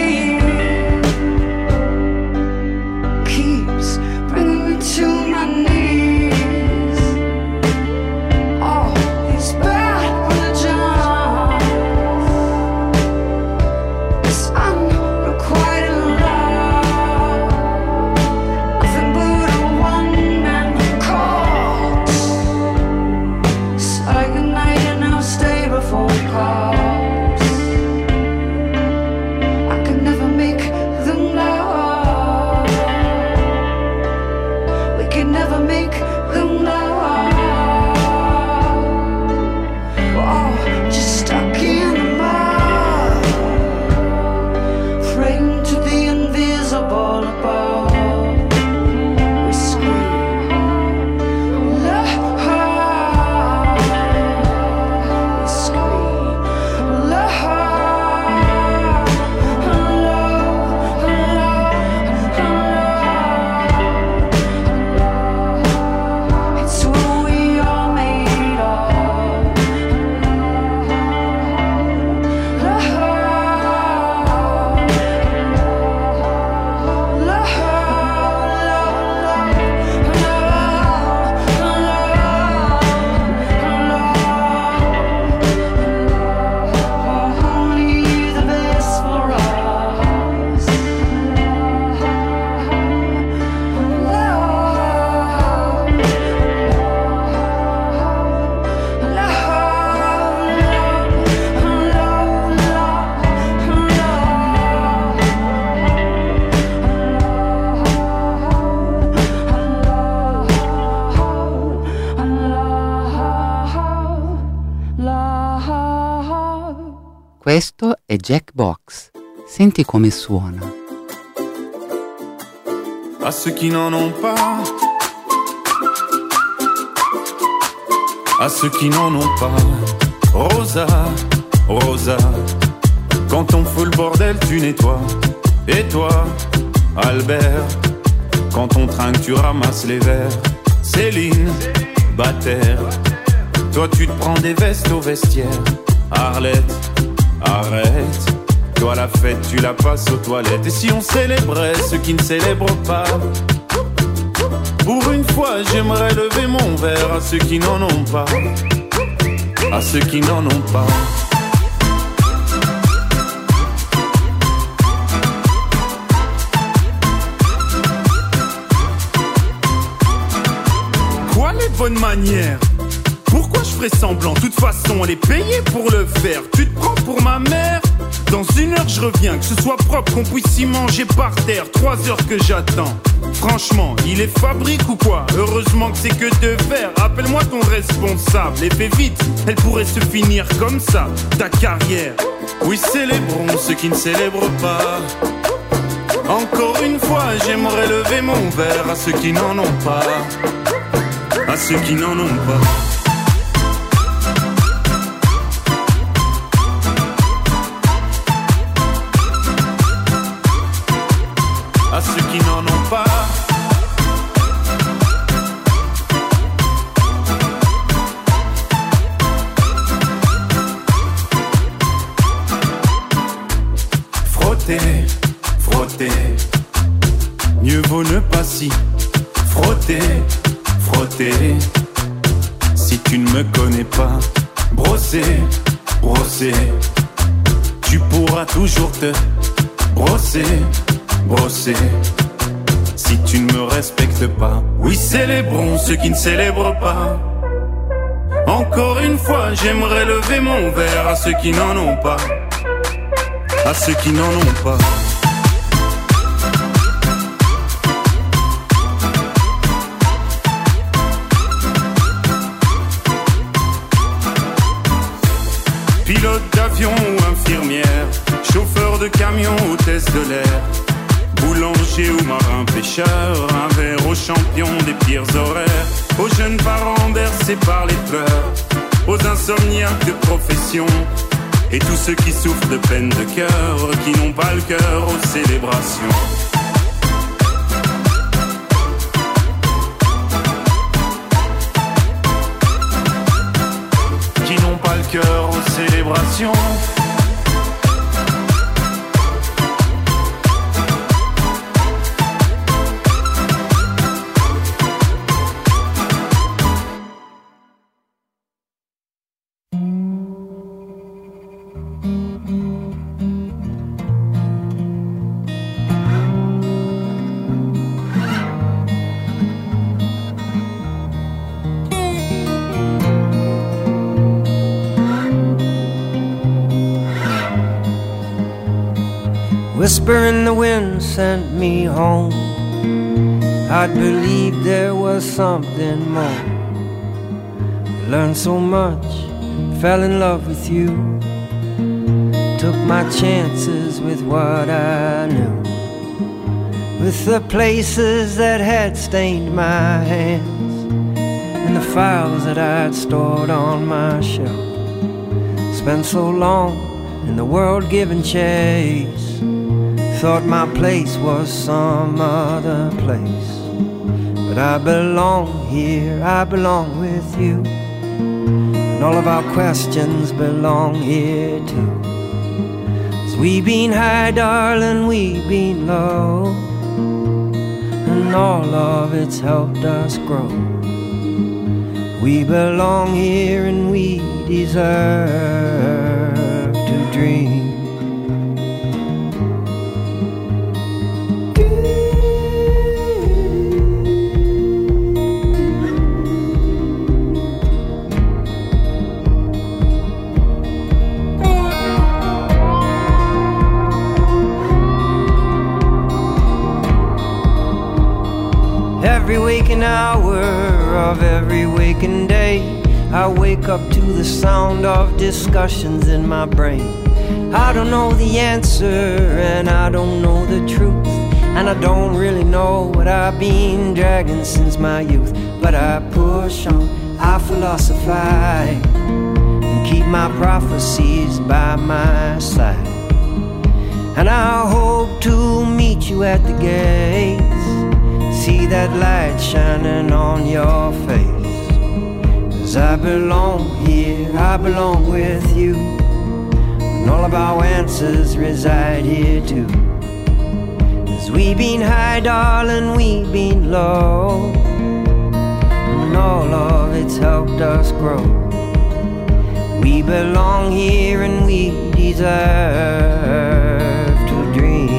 keeps bringing me to my knees. Oh, these bad religions, this unrequited love, nothing but a one-man cult. Say goodnight and I'll stay before it calls. I could never make them love. We could never make them love. We're all just stuck in the mud, praying to the invisible above. We scream, love. We scream, love, love. It's who we are made of. Love, love, love, only the best for us. Questo è Jack Box. Senti come suona. À ceux qui n'en ont pas, à ceux qui n'en ont pas, Rosa, Rosa, quand on fout le bordel tu nettoies. Et toi, Albert, quand on trinque tu ramasses les verres. Céline, Bataire, toi tu te prends des vestes au vestiaire. Arlette, arrête, toi la fête tu la passes aux toilettes. Et si on célébrait ceux qui ne célèbrent pas, pour une fois j'aimerais lever mon verre à ceux qui n'en ont pas, à ceux qui n'en ont pas. Quoi les bonnes manières? Pourquoi je ferais semblant? De toute façon elle est payée pour le faire. Tu te prends pour ma mère? Dans une heure je reviens, que ce soit propre, qu'on puisse y manger par terre. Trois heures que j'attends. Franchement, il est fabrique ou quoi? Heureusement que c'est que de verre. Appelle-moi ton responsable et fais vite, elle pourrait se finir comme ça, ta carrière. Oui, célébrons ceux qui ne célèbrent pas. Encore une fois, j'aimerais lever mon verre à ceux qui n'en ont pas, à ceux qui n'en ont pas. À ceux qui n'en ont pas. Frotter, frotter, mieux vaut ne pas s'y frotter, frotter. Si tu ne me connais pas, brosser, brosser, tu pourras toujours te brosser, brosser. Si tu ne me respectes pas, oui célébrons ceux qui ne célèbrent pas. Encore une fois j'aimerais lever mon verre à ceux qui n'en ont pas, à ceux qui n'en ont pas. Pilote d'avion ou infirmière, chauffeur de camion, hôtesse de l'air, boulanger ou marin pêcheur, un verre aux champions des pires horaires, aux jeunes parents bercés par les pleurs, aux insomniaques de profession, Et tous ceux qui souffrent de peine de cœur, qui n'ont pas le cœur aux célébrations. Qui n'ont pas le cœur aux célébrations. Whisper in the wind sent me home. I'd believed there was something more. Learned so much, fell in love with you. Took my chances with what I knew, with the places that had stained my hands, and the files that I'd stored on my shelf. Spent so long in the world giving chase, thought my place was some other place. But I belong here, I belong with you, and all of our questions belong here too. 'Cause we been high, darling, we been low, and all of it's helped us grow. We belong here and we deserve to dream. Every waking hour of every waking day, I wake up to the sound of discussions in my brain. I don't know the answer and I don't know the truth, and I don't really know what I've been dragging since my youth. But I push on, I philosophize, and keep my prophecies by my side. And I hope to meet you at the gates, see that light shining on your face. 'Cause I belong here, I belong with you, and all of our answers reside here too. 'Cause we been high, darling, we been low, and all of it's helped us grow. We belong here and we deserve to dream.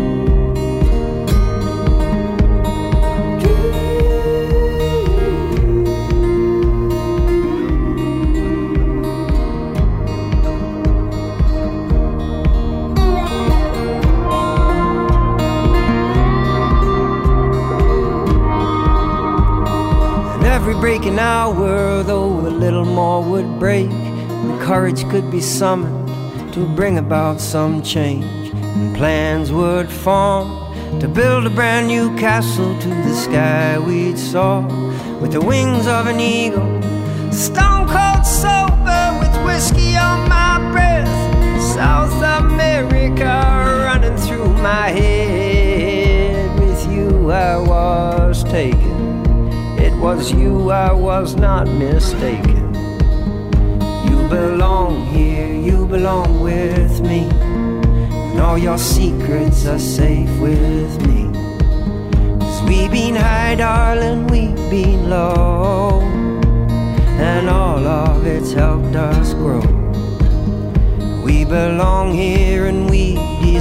Every breaking hour, though a little more would break, and courage could be summoned to bring about some change, and plans would form to build a brand new castle to the sky we'd soar with the wings of an eagle, stone cold sober with whiskey on my breath, South America running through my head. With you I was taken, it was you, I was not mistaken. You belong here, you belong with me, and all your secrets are safe with me. 'Cause we been high, darling, we been low, and all of it's helped us grow. We belong here and we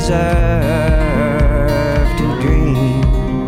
deserve to dream.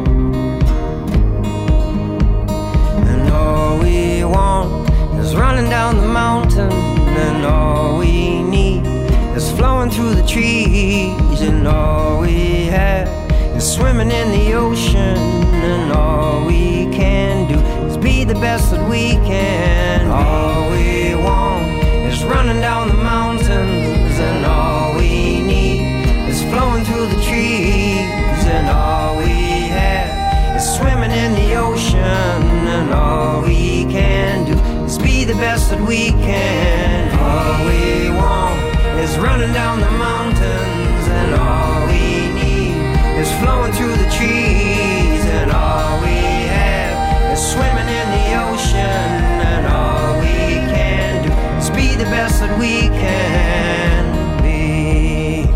We want is running down the mountain, and all we need is flowing through the trees, and all we have is swimming in the ocean, and all we can do is be the best that we can. All we want is running down the mountains, and all we need is flowing through the trees, and all we have is swimming in the ocean, and all we can do is be the best that we can. All we want is is running down the mountains, and all we need is flowing through the trees, and all we have is swimming in the ocean, and all we can do is be the best that we can be.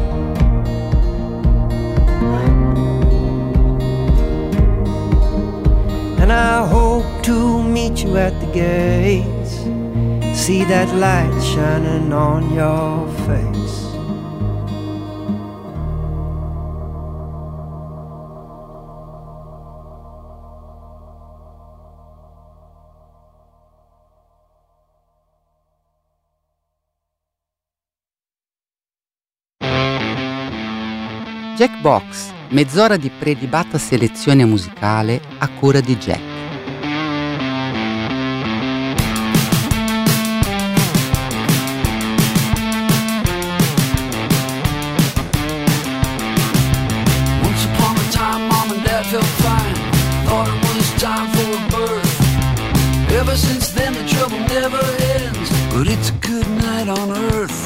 And I hope to meet you at the gates, see that light shining on your face. Jackbox, mezz'ora di prelibata selezione musicale a cura di Jack. Once upon a time, mom and dad felt fine. Thought it was time for a birth. Ever since then, the trouble never ends. But it's a good night on earth.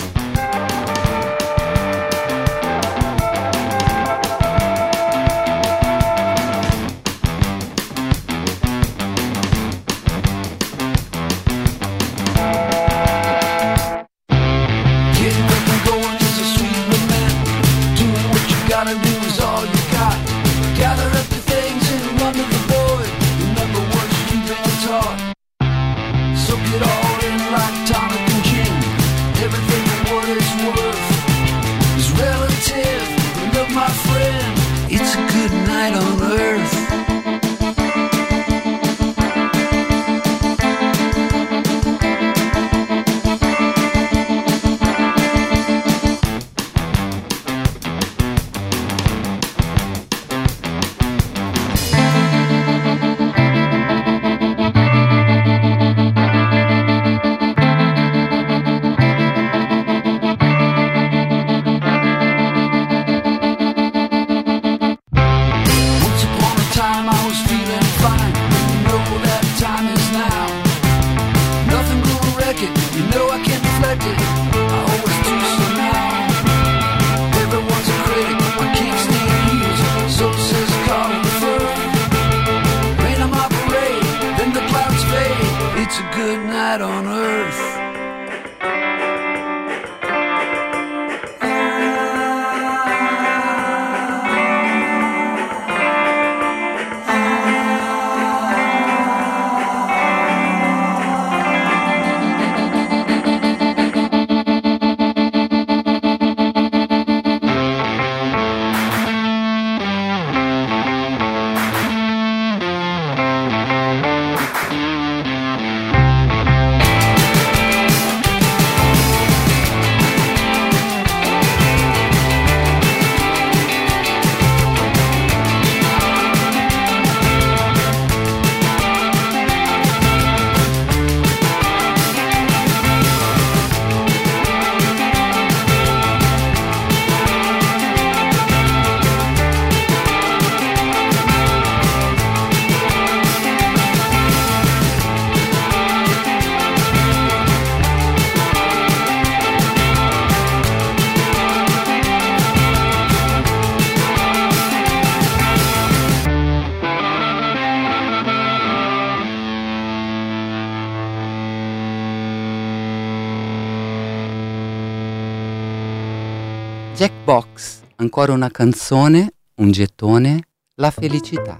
Jackbox, ancora una canzone, un gettone, la felicità.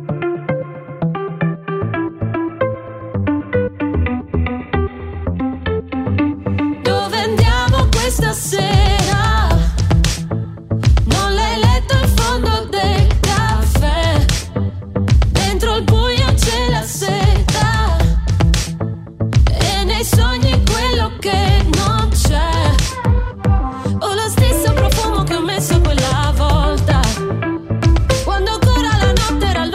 Dove andiamo questa sera? Non l'hai letto il fondo del caffè. Dentro il buio c'è la seta e nei sogni quello che non c'è. Ho lo stesso profumo che ho messo quella volta, quando ancora la notte era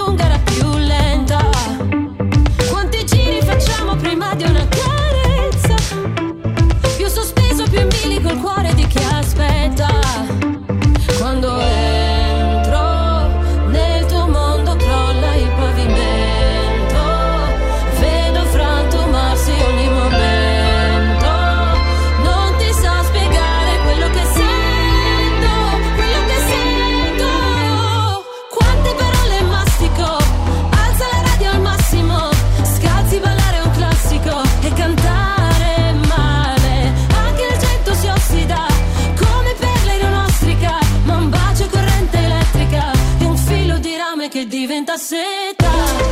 diventa seta.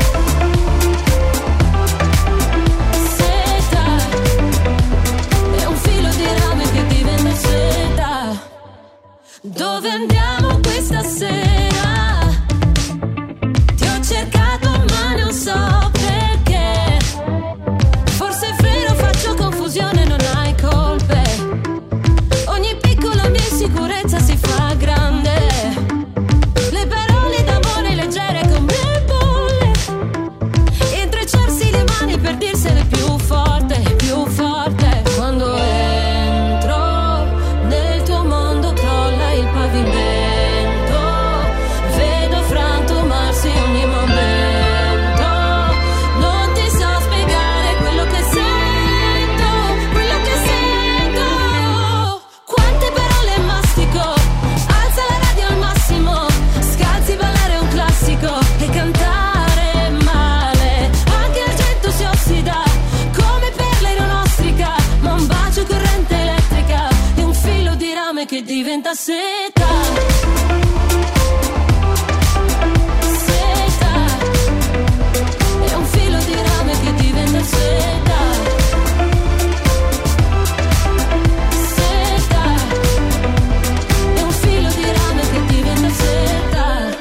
Dove andiamo questa sera? Ti ho cercato ma non so perché. Forse è vero, faccio confusione, non hai colpe. Ogni piccola mia insicurezza si fa grande. Le parole d'amore leggere come bolle. Intrecciarsi le mani per dirsene più forte, più forte. Quando entro nel tuo mondo crolla il pavimento, vedo frantumarsi ogni momento. Non ti so spiegare quello che sento, quello che sento. Quante parole mastico, alza la radio al massimo, scalzi ballare un classico e cantare male. Anche l'argento si ossida come perla in un'ostrica, ma un bacio corrente elettrica e un filo di rame che diventa seta. Seta. È un filo di rame che diventa seta. Seta. È un filo di rame che diventa seta.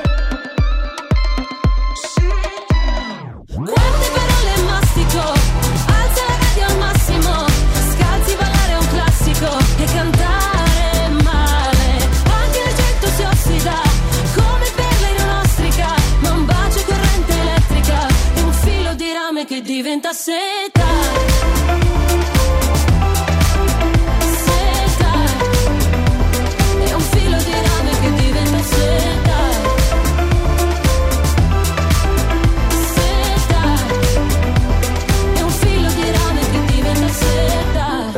Quante parole mastico, alza la radio al massimo, scalzi ballare un classico e cantare male. Anche l'argento si ossida come perla in un'ostrica, ma un bacio corrente elettrica e un filo di rame che diventa seta. Seta. È un filo di rame che diventa seta. Seta. È un filo di rame che diventa seta.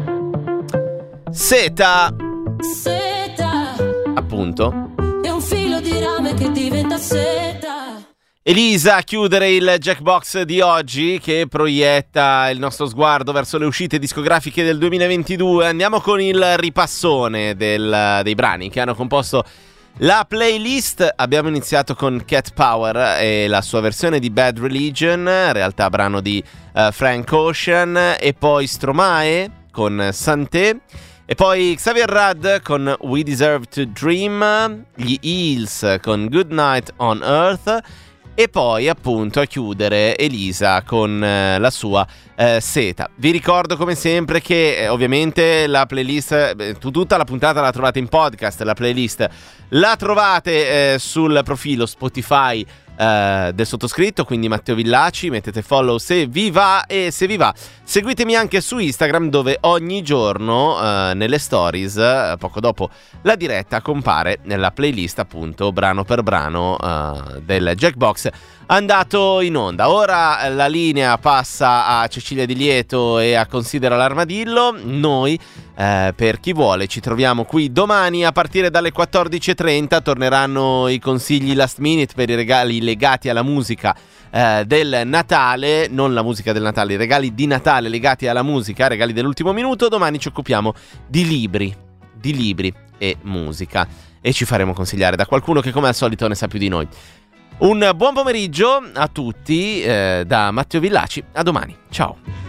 Seta, Seta. appunto. È un filo di rame che diventa seta. Elisa a chiudere il Jackbox di oggi, che proietta il nostro sguardo verso le uscite discografiche del duemilaventidue. Andiamo con il ripassone del, dei brani che hanno composto la playlist. Abbiamo iniziato con Cat Power e la sua versione di Bad Religion, in realtà brano di uh, Frank Ocean, e poi Stromae con Santé, e poi Xavier Rudd con We Deserve to Dream, gli Eels con Good Night on Earth, e poi appunto a chiudere Elisa con eh, la sua eh, Seta. Vi ricordo come sempre che eh, ovviamente la playlist, eh, tutta la puntata la trovate in podcast, la playlist la trovate eh, sul profilo Spotify Uh, del sottoscritto, quindi Matteo Villaci. Mettete follow se vi va, e se vi va seguitemi anche su Instagram, dove ogni giorno uh, nelle stories, uh, poco dopo la diretta, compare nella playlist appunto brano per brano uh, del Jackbox andato in onda. Ora la linea passa a Cecilia Di Lieto e a Considera l'Armadillo. Noi Eh, per chi vuole ci troviamo qui domani a partire dalle quattordici e trenta. Torneranno i consigli last minute per i regali legati alla musica eh, del Natale, non la musica del Natale, i regali di Natale legati alla musica, regali dell'ultimo minuto. Domani ci occupiamo di libri, di libri e musica, e ci faremo consigliare da qualcuno che come al solito ne sa più di noi. Un buon pomeriggio a tutti eh, da Matteo Villaci, a domani, ciao.